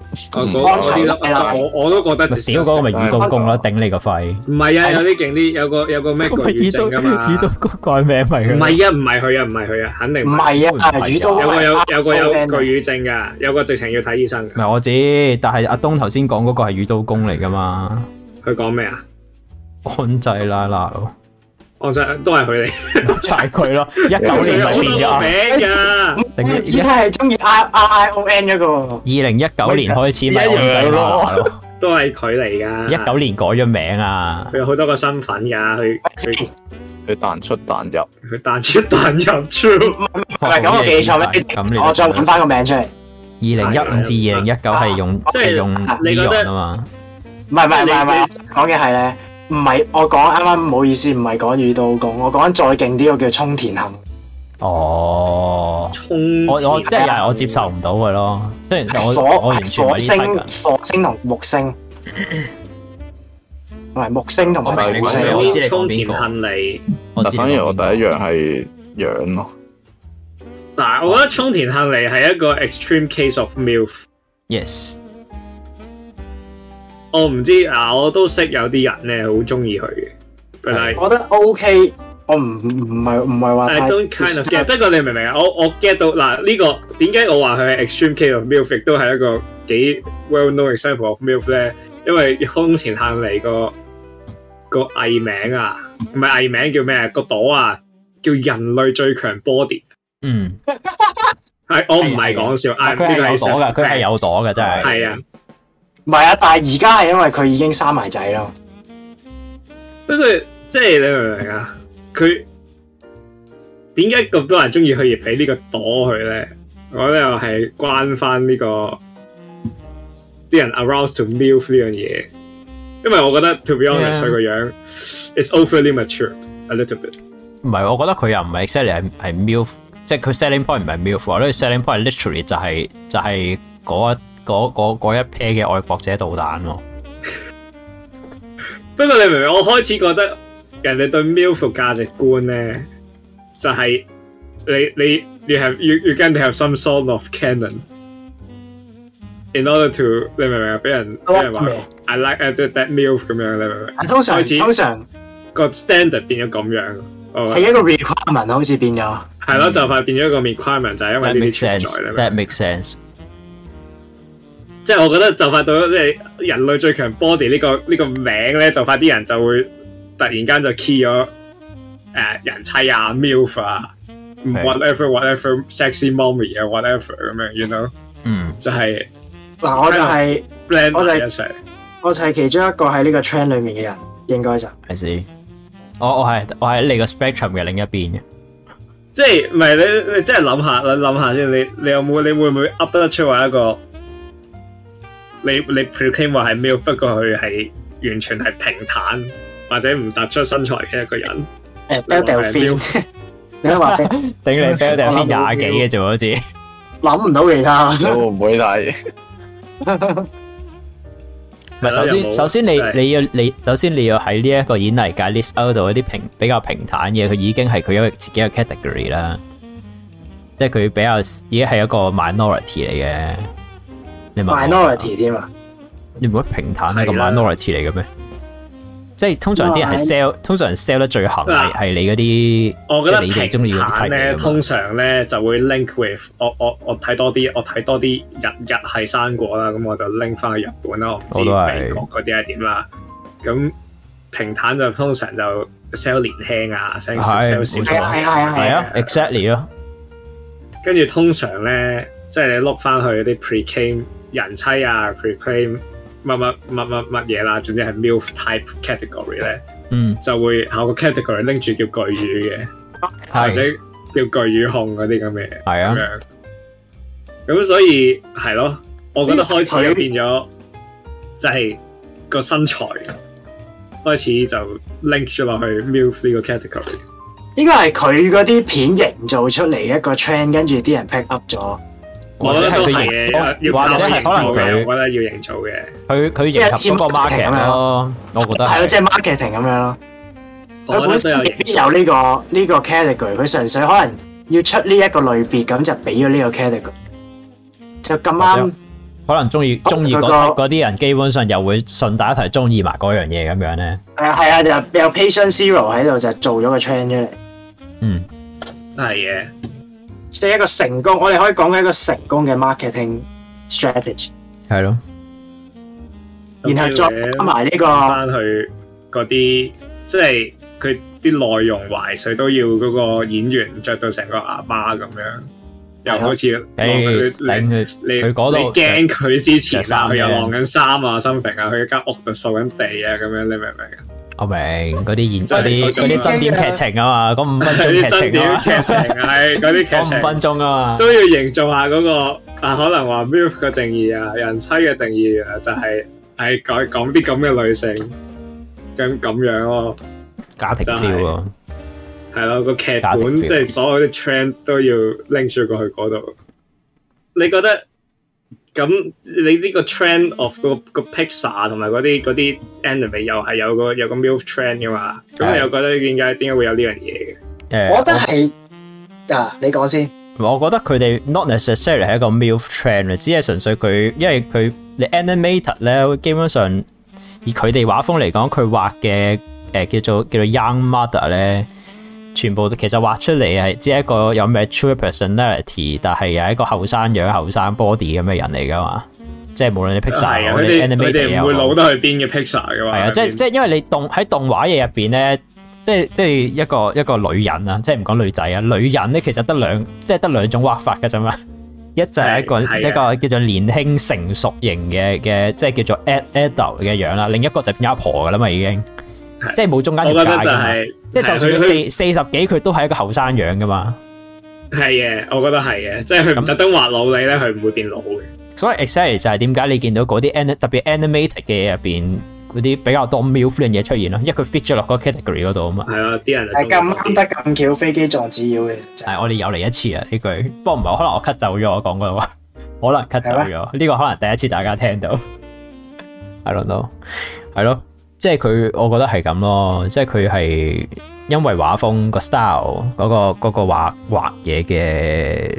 我都覺得屌嗰個咪宇都公咯，頂你個肺！ 唔係啊，有啲勁啲，有個咩巨宇正噶嘛？ 宇都公改名咪？ 唔係啊，唔係佢，肯定唔係啊，宇都有巨宇正噶，有個直情要睇醫生。 唔係我知，但係阿東頭先講嗰個係宇都公嚟噶嘛？ 佢講咩啊？ 安濟拉拉咯。 我就都係佢嚟， 就係佢咯。19年咪變咗名㗎。 而家係中意 ION 嗰個。 2019年開始咪安濟拉咯， 都係佢嚟㗎。 19年改咗名啊！ 佢有好多個身份㗎， 佢彈出彈入， 佢彈出彈入超。 唔係咁我記錯咩？我再揾翻個名出嚟。 2015至2019係用即係用 Leon 啊嘛。 唔係，講嘅係咧。唔係，我講啱啱唔好意思，唔係講宇都公，我講再勁啲個叫沖田杏。 哦，我即係我接受唔到嘅咯，雖然我完全火星同木星，唔係木星同埋土星。 我知你沖田杏嚟， 但反而我第一樣係樣咯。 嗱，我覺得沖田杏嚟係一個 extreme case of MILF。Yes。我唔知啊，我都識有啲人咧，好中意佢嘅。 我覺得 OK，我唔係話。 I don't kind of get，不過你明唔明啊？我 get 到嗱呢個點解我話佢係 extreme case of MILF，亦都係一個幾 well known example of MILF 咧？因為沖田杏嚟個藝名啊，唔係藝名叫咩？個朵啊，叫人類最強 body。嗯，係我唔係講笑， 佢係有朵㗎，佢係有朵㗎，真係。 係啊。 唔係啊，但係而家係因為佢已經生埋仔咯。 不過即係你明唔明啊？佢點解咁多人中意佢而俾呢個朵佢咧？我覺得又係關翻呢個啲人 aroused to MILF 呢樣嘢。因為我覺得 to be honest 佢個樣 is overly mature a little bit。 唔係，我覺得佢又唔係 exactly 係 MILF，即係佢 selling point 唔係 MILF，我覺得 selling point literally 就係嗰一 pair 嘅愛國者導彈喎。不過你明唔明？我開始覺得人哋對 MILF 價值觀咧，就係、是、你 you can have some sort of canon in order to 你明唔明啊？俾人話 I like that MILF 咁樣，你明唔明？通常個 standard 變咗咁樣， 係一個 requirement 好似變咗。 係咯，就快變咗一個 requirement，就係因為呢啲存在。 That makes sense。 即係我覺得就快到咗，即係人類最強 body 呢個名咧，就快啲人就會突然間就 key 咗人妻啊 MILF 啊 whatever sexy mommy 啊 whatever 咁樣 you know 就係嗱我就係 blend 埋一齊， 我就係其中一個喺呢個 trend 裏面嘅人，應該就係先。 我喺你個 spectrum 嘅另一邊嘅， 即係唔係你即係諗下先，你有冇你會唔會 up 得出話一個？你 proclaim 話係 MILF，不過佢係完全係平坦或者唔突出身材嘅一個人。 Delphine， 你話頂你 Delphine 20幾嘅啫，好似諗唔到其他。 我唔會睇。 唔係首先你要喺呢一個演藝界 list out 度一啲比較平坦嘅，佢已經係佢一個自己嘅 category 啦。即係佢比較已經係一個 minority 嚟嘅。 minority 添啊！ 你唔覺得平坦係個 minority 嚟嘅咩？即係通常啲人係 sell， 通常 sell 得最行係你嗰啲， 我覺得你哋中意嗰啲咧，通常咧就會 link with 我睇多啲日系生果啦，咁我就 link 翻去日本啦，我唔知美國嗰啲係點啦。咁平坦就通常就 sell 年輕啊 ，sell 少係啊 ，exactly 咯。 跟住通常咧，即係你碌翻去啲 pre-claim 人妻啊 ，pre-claim 乜嘢啦，總之係 MILF type category 咧，就會有個 category 拎住叫巨乳嘅，或者叫巨乳控嗰啲咁嘅，係啊，咁所以係咯，我覺得開始就變咗，就係個身材開始就 link 咗落去 MILF 呢個 category。 應該係佢嗰啲片營造出嚟一個 trend， 跟住啲人 pick up 咗。 我覺得都係嘅，或者係可能佢，我覺得要營造嘅。 佢迎合嗰個 market 咯，我覺得係咯，即係 marketing 咁樣咯。佢本身未必有呢個 category， 佢純粹可能要出呢一個類別，咁就俾咗呢個 category。就咁啱， 可能中意嗰啲人，基本上又會順帶一提中意埋嗰樣嘢咁樣咧。 係啊，就有 Patient Zero 喺度就做咗個 trend 出嚟。 係嘅。 即係一個成功，我哋可以講緊一個成功嘅 marketing strategy。 係咯， 然後再加埋呢個翻去嗰啲，即係佢啲內容懷水都要嗰個演員着到成個阿媽咁樣，又好似你嗰度驚佢之前啊，佢又晾緊衫啊、心平啊，佢間屋度掃緊地啊，咁樣你明唔明啊？ 我明嗰啲真點劇情啊嘛，嗰5分鐘劇情啊， 係嗰啲劇情， 嗰5分鐘啊嘛， 都要營造下嗰個可能話 MILF 嘅定義啊，人妻嘅定義啊，就係講啲咁嘅女性咁樣咯， 家庭 feel 咯， 係咯，個劇本即係所有啲 trend 都要拎住過去嗰度。你覺得？咁你知個 trend of 個 Pixar 同埋嗰啲 anime 又係有個 MILF trend 噶嘛？咁你又覺得點解會有呢樣嘢嘅？ 我覺得係你講先。 我覺得佢哋 not necessarily 係一個 MILF trend， 只係純粹佢，因為佢你 animator 咧，基本上以佢哋畫風嚟講，佢畫嘅叫做 young mother 咧。全部其實畫出嚟係只係一個有 mature personality， 但係有一個後生樣、後生 body 咁嘅人嚟噶嘛。即係無論你 Pixar 或者 animator， 佢哋唔會老得去邊嘅 Pixar 噶嘛。係啊，即係因為你喺動畫嘢入邊咧，即係一個女人啊，即係唔講女仔啊，女人咧其實得兩種畫法噶啫嘛。一就係一個叫做年輕成熟型嘅，即係叫做 adult 嘅樣啦。另一個就變阿婆噶啦嘛，已經。即係冇中間條界噶嘛，即係就算佢四十幾，佢都係一個後生樣噶嘛。 係嘅，我覺得係嘅，即係佢唔特登畫老你咧，佢唔會變老嘅。 所以 exactly 就係點解你見到嗰啲特別 animated 嘅嘢入邊嗰啲比較多 MILF 嘅嘢出現咯，因為佢 fit 咗落嗰個 category 嗰度啊嘛。係啊，啲人係咁啱得咁巧，飛機撞紙鷂嘅。 係我哋又嚟一次啦呢句，不過唔係，可能我 cut 走咗我講嗰話，可能 cut 走咗呢個，可能第一次大家聽到。I don't know， 係咯。即係佢，我覺得係咁咯。即係佢係因為畫風個 style 嗰個畫嘢嘅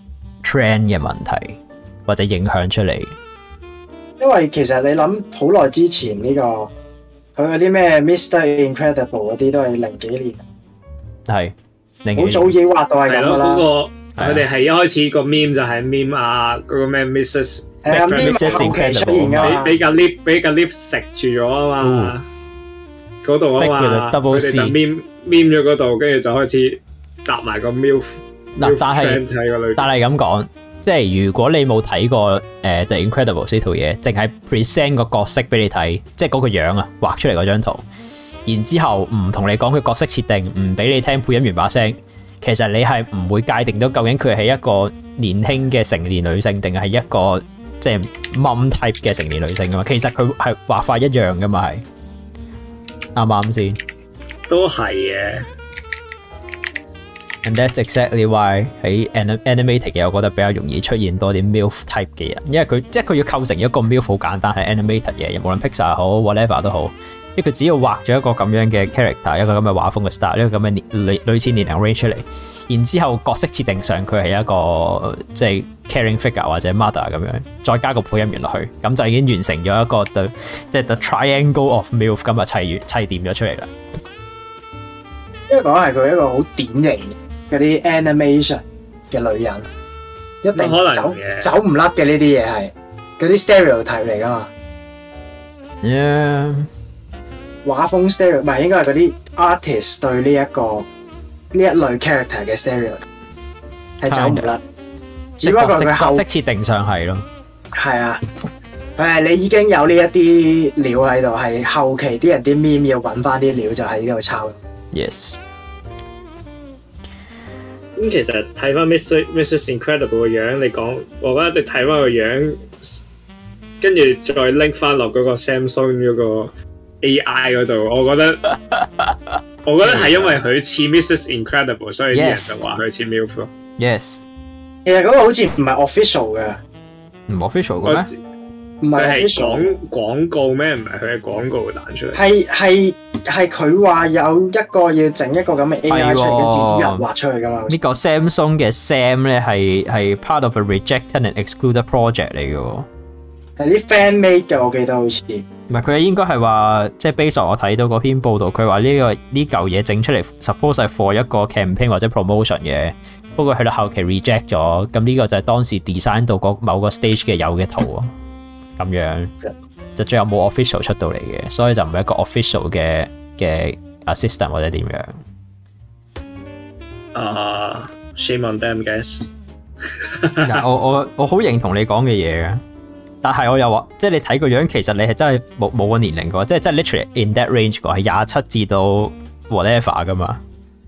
trend 嘅問題，或者影響出嚟。 因為其實你諗好耐之前呢個佢嗰啲咩 Mr. Incredible 嗰啲都係0幾年， 係好早已經畫到係咁噶啦。 佢哋係一開始個 meme 就係 meme 啊，嗰個咩 Mrs. 係啊 ，Mrs. Incredible 俾個 lift 食住咗啊嘛，嗰度啊嘛，佢哋就 meme 咗嗰度，跟住就開始搭埋個 MILF。嗱，但係咁講，即係如果你冇睇過The Incredibles 呢套嘢，淨係 present 個角色俾你睇，即係嗰個樣啊，畫出嚟嗰張圖，然之後唔同你講佢角色設定，唔俾你聽配音員把聲。其實你係唔會界定到究竟佢係一個年輕嘅成年女性，定係一個即係 mom type 嘅成年女性噶嘛？其實佢係畫法一樣噶嘛，係啱唔啱先？ 都係嘅。 And that's exactly why 喺 animated 嘅，我覺得比較容易出現多啲 MILF type 嘅人，因為佢即係佢要構成一個 MILF 好簡單，係 animated 嘅，無論 Pixar 好 whatever 都好。因為佢只要畫咗一個咁樣嘅 character， 一個咁嘅畫風嘅 style， 一個咁嘅類似年齡 range 出嚟，然之後角色設定上佢係一個即係 caring figure 或者 mother 咁樣，再加個配音員落去，咁就已經完成咗一個即係 the triangle of MILF 咁啊砌掂咗出嚟啦。 因為講係佢一個好典型嗰啲 animation 嘅女人，一定走唔甩嘅呢啲嘢係嗰啲 stereotype 嚟噶嘛。 Yeah。 畫風 stereo，唔係應該係嗰啲 artist 對呢一類 character 嘅 stereo 係走唔甩，只不過佢角色設定上係咯。 係啊，你已經有呢一啲料喺度，係後期啲人啲 meme 要揾翻啲料就喺呢度抄。 Yes。 咁其實睇翻 Mrs. Incredible 個樣，你講，我覺得你睇翻個樣，跟住再 link 翻落嗰個 Samsung 嗰個 AI 嗰度，我覺得係因為佢似 Mrs. Incredible， 所以啲人就話佢似 MILF 咯。 Yes。 其實嗰個好似唔係 official 嘅， 唔 official 嘅咩？ 唔係廣告咩？唔係佢嘅廣告彈出嚟。 係佢話有一個要整一個咁嘅 AI 出嚟，跟住啲人畫出去噶嘛。 呢個 Samsung 嘅 Sam 咧係 part of a rejected and excluded project 嚟嘅喎。 係啲 fan made 嘅，我記得好似。 唔係佢應該係話，即係 base on 我睇到嗰篇報道，佢話呢嚿嘢整出嚟 suppose 係 for 一個 campaign 或者 promotion 嘅。不過去到後期 reject 咗，咁呢個就係當時 design 到某個 stage 嘅有嘅圖啊。咁樣就最後冇 official 出到嚟嘅，所以就唔係一個 official 嘅 assistant 或者點樣。 Shame on them, guys 。 我好認同你講嘅嘢嘅，但係我又話，即係你睇個樣，其實你係真係冇個年齡嘅，即係真係 literally in that range 個，係27至到 whatever 噶嘛。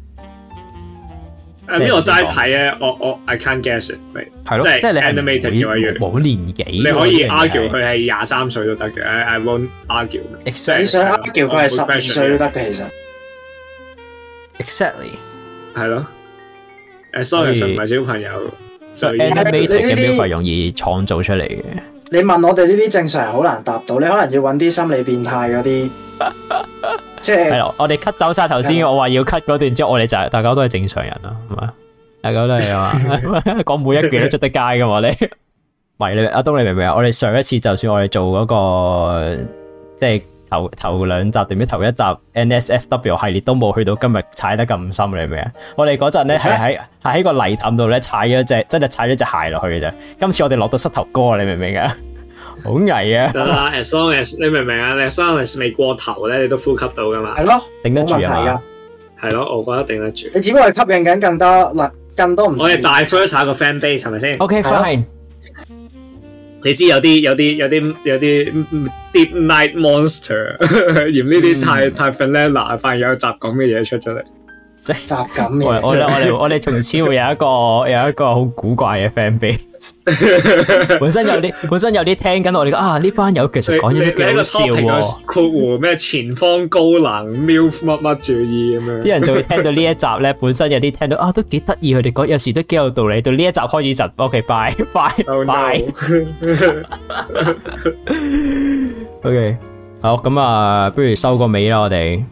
呢個齋睇咧，我 I can't guess it， 係咯，即係你 animated 嘅話， 冇年紀， 你可以 argue 佢係23歲都得嘅，I won't argue。 你想 argue 佢係12歲都得嘅，其實。 Exactly。 係咯。as long as 唔係小朋友， 所以 animated 嘅 MILF 係容易創造出嚟嘅。 你問我哋呢啲正常人好難答到，你可能要揾啲心理變態嗰啲。即係咯，我哋 cut 走晒頭先，我話要 cut 嗰段之後，我哋就大家都係正常人啦，係嘛？大家都係啊嘛，講每一句都出得街噶嘛，你唔係你阿東，你明唔明啊？我哋上一次就算我哋做嗰個即係頭兩集定唔知頭一集 NSFW 系列都冇去到今日踩得咁深，你明唔明啊？我哋嗰陣咧係喺個泥凼度咧真係踩咗隻鞋落去嘅啫。今次我哋落到膝頭哥，你明唔明啊？好危啊！ 得啦，as long as 你明唔明啊？你 as long as 未過頭咧，你都呼吸到噶嘛？ 係咯， 頂得住啊嘛？ 係咯，我覺得頂得住。 你只不過係吸引緊更多唔。我哋大 first 下個 fan base 係咪先 ？OK fine。 你知有啲 deep night monster 嫌呢啲太 vanilla， 反而有雜咁嘅嘢出咗嚟。 雜感嘅， 我哋從此會有一個好古怪嘅 fan base。本身有啲聽緊我哋講呢班友其實講嘢都幾好笑喎。 括弧咩前方高能 MILF 乜注意咁樣， 啲人就會聽到呢一集咧，本身有啲聽到都幾得意，佢哋講有時都幾有道理。到呢一集開始就 OK bye。OK 好咁不如收個尾啦，我哋。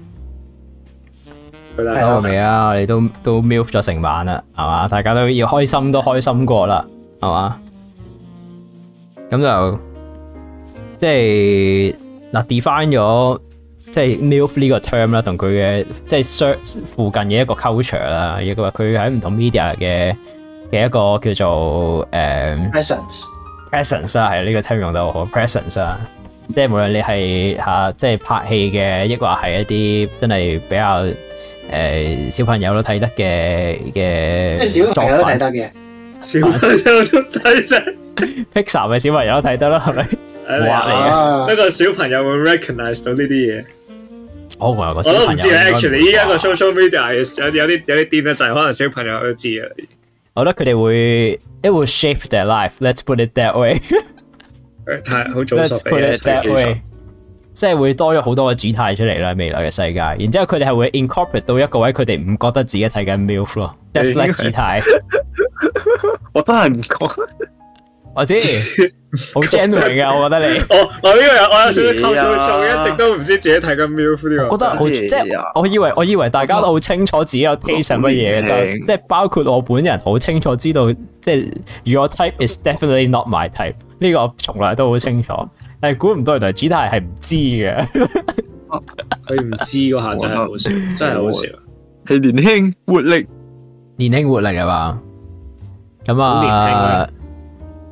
收個尾啦，我哋都 MILF 咗成晚啦，係嘛？大家都要開心都開心過啦，係嘛？咁就即係嗱 define 咗即係 MILF 呢個 term 啦，同佢嘅即係附近嘅一個 culture 啦，亦話佢喺唔同 media 嘅一個叫做presence 啦，係呢個 term 用得好 presence 啦。即係無論你係即係拍戲嘅，抑或係一啲真係比較小朋友都睇得嘅小朋友都睇得嘅， 小朋友都睇得 ，Pixar 嘅小朋友都睇得啦，係咪？畫嚟嘅， 不過小朋友會 recognize 到呢啲嘢。 我有個小朋友， 我都唔知啊。Actually，依家個 social media 有啲癲得滯，可能小朋友都知啊。 我覺得佢哋會 ，it will shape their life. Let's put it that way 。 太好早熟嘅， 即係會多咗好多嘅主題出嚟啦，未來嘅世界。然之後佢哋係會 incorporate 到一個位，佢哋唔覺得自己睇緊 MILF 咯 ，just like 主題。 我都係唔講， 我知好 genuine 嘅，我覺得你。 我呢個我有少少偷做數，一直都唔知自己睇緊 MILF 呢個。 我覺得好即係我以為大家都好清楚自己有 taste 係乜嘢嘅，即係包括我本人好清楚知道，即係 your type is definitely not my type。呢個我從來都好清楚，但係估唔到原來主題係唔知嘅。 佢唔知嗰下真係好笑，真係好笑。 係年輕活力， 年輕活力係嘛？咁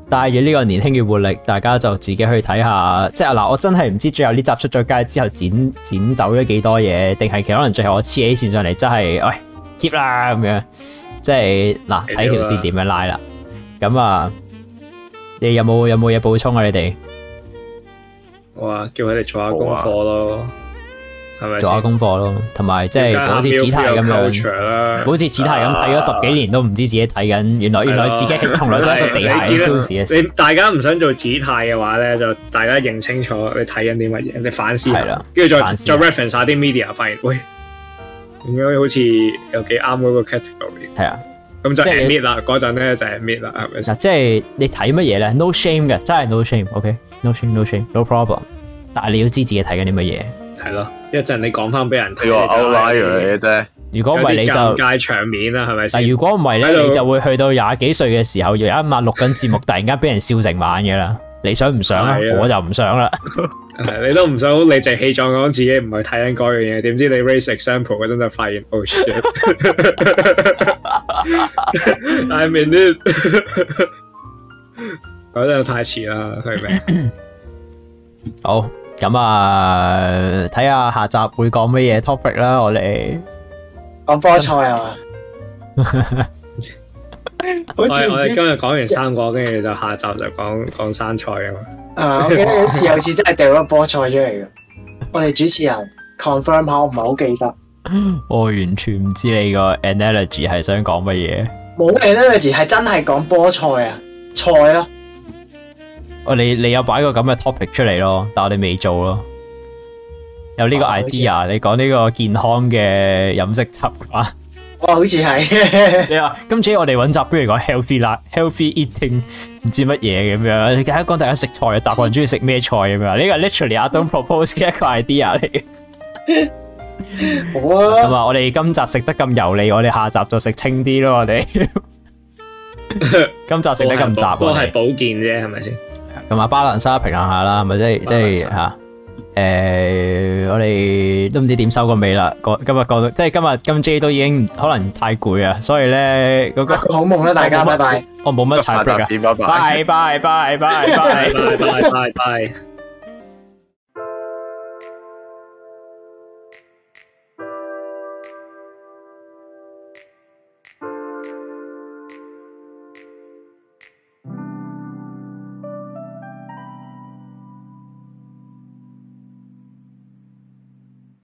帶住呢個年輕嘅活力，大家就自己去睇下。即係嗱，我真係唔知最後呢集出咗街之後剪走咗幾多嘢，定係其實可能最後我黐起線上嚟，真係喂 keep 啦咁樣。即係嗱，睇條線點樣拉啦。咁啊，你有冇嘢補充啊？你哋？ 哇！叫佢哋做下功課咯，係咪？ 做下功課咯，同埋即係好似子泰咁樣，好似子泰咁睇咗10幾年都唔知自己睇緊，原來自己從來都係一個地下嘅 news。 你大家唔想做子泰嘅話咧，就大家認清楚你睇緊啲乜嘢，你反思下，跟住再 reference 下啲 media，發現喂，點解好似有幾啱嗰個 category？ 係啊。咁就 admit 啦，嗰陣咧就 admit 啦，係咪先？ 即係你睇乜嘢咧 ？No shame 嘅，真係 no shame，OK？No shame，no shame，no problem。但係你要知自己睇緊啲乜嘢。係咯，一陣你講翻俾人睇。 呢個 outlier 嚟嘅啫。 如果唔係你就尷尬場面啦，係咪先？ 如果唔係咧，你就會去到廿幾歲嘅時候，有一晚錄緊節目，突然間俾人笑成晚嘅啦。你想唔想啊？我就唔想啦。 你都唔想好理直氣壯講自己唔係睇緊嗰樣嘢，點知你 raise example 嗰陣就發現 oh shit，I mean it， 嗰陣太遲啦，係咪？ 好，咁啊，睇下下集會講乜嘢 topic 啦，我哋講波賽啊嘛。 我哋今日講完3個，跟住就下集就講生菜啊嘛。 我記得好似有次真係掉咗波菜出嚟嘅。我哋主持人 confirm 下，我唔係好記得。 我完全唔知你個 analogy 係想講乜嘢。 冇 analogy 係真係講波菜啊，菜咯。 你有擺個咁嘅 topic 出嚟咯，但我哋未做咯。有呢個 idea，你講呢個健康嘅飲食習慣。 好似係。 你話今次我哋揾集，不如講 healthy eating， 唔知乜嘢咁樣。你講大家食菜嘅習慣，中意食咩菜咁樣？呢個 literally I don't propose 嘅一個 idea 嚟嘅。 好啊。 咁啊，我哋今集食得咁油膩，我哋下集就食清啲咯。我哋今集食得咁雜， 都係保健啫，係咪先？ 咁啊，balance 平衡下啦，係咪即係吓？我哋都唔知點收個尾啦。今日講到，即係今 J 都已經可能太攰啊，所以咧嗰個好夢啦，大家拜拜。 我冇乜踩 break 啊，拜拜拜拜拜拜拜拜拜。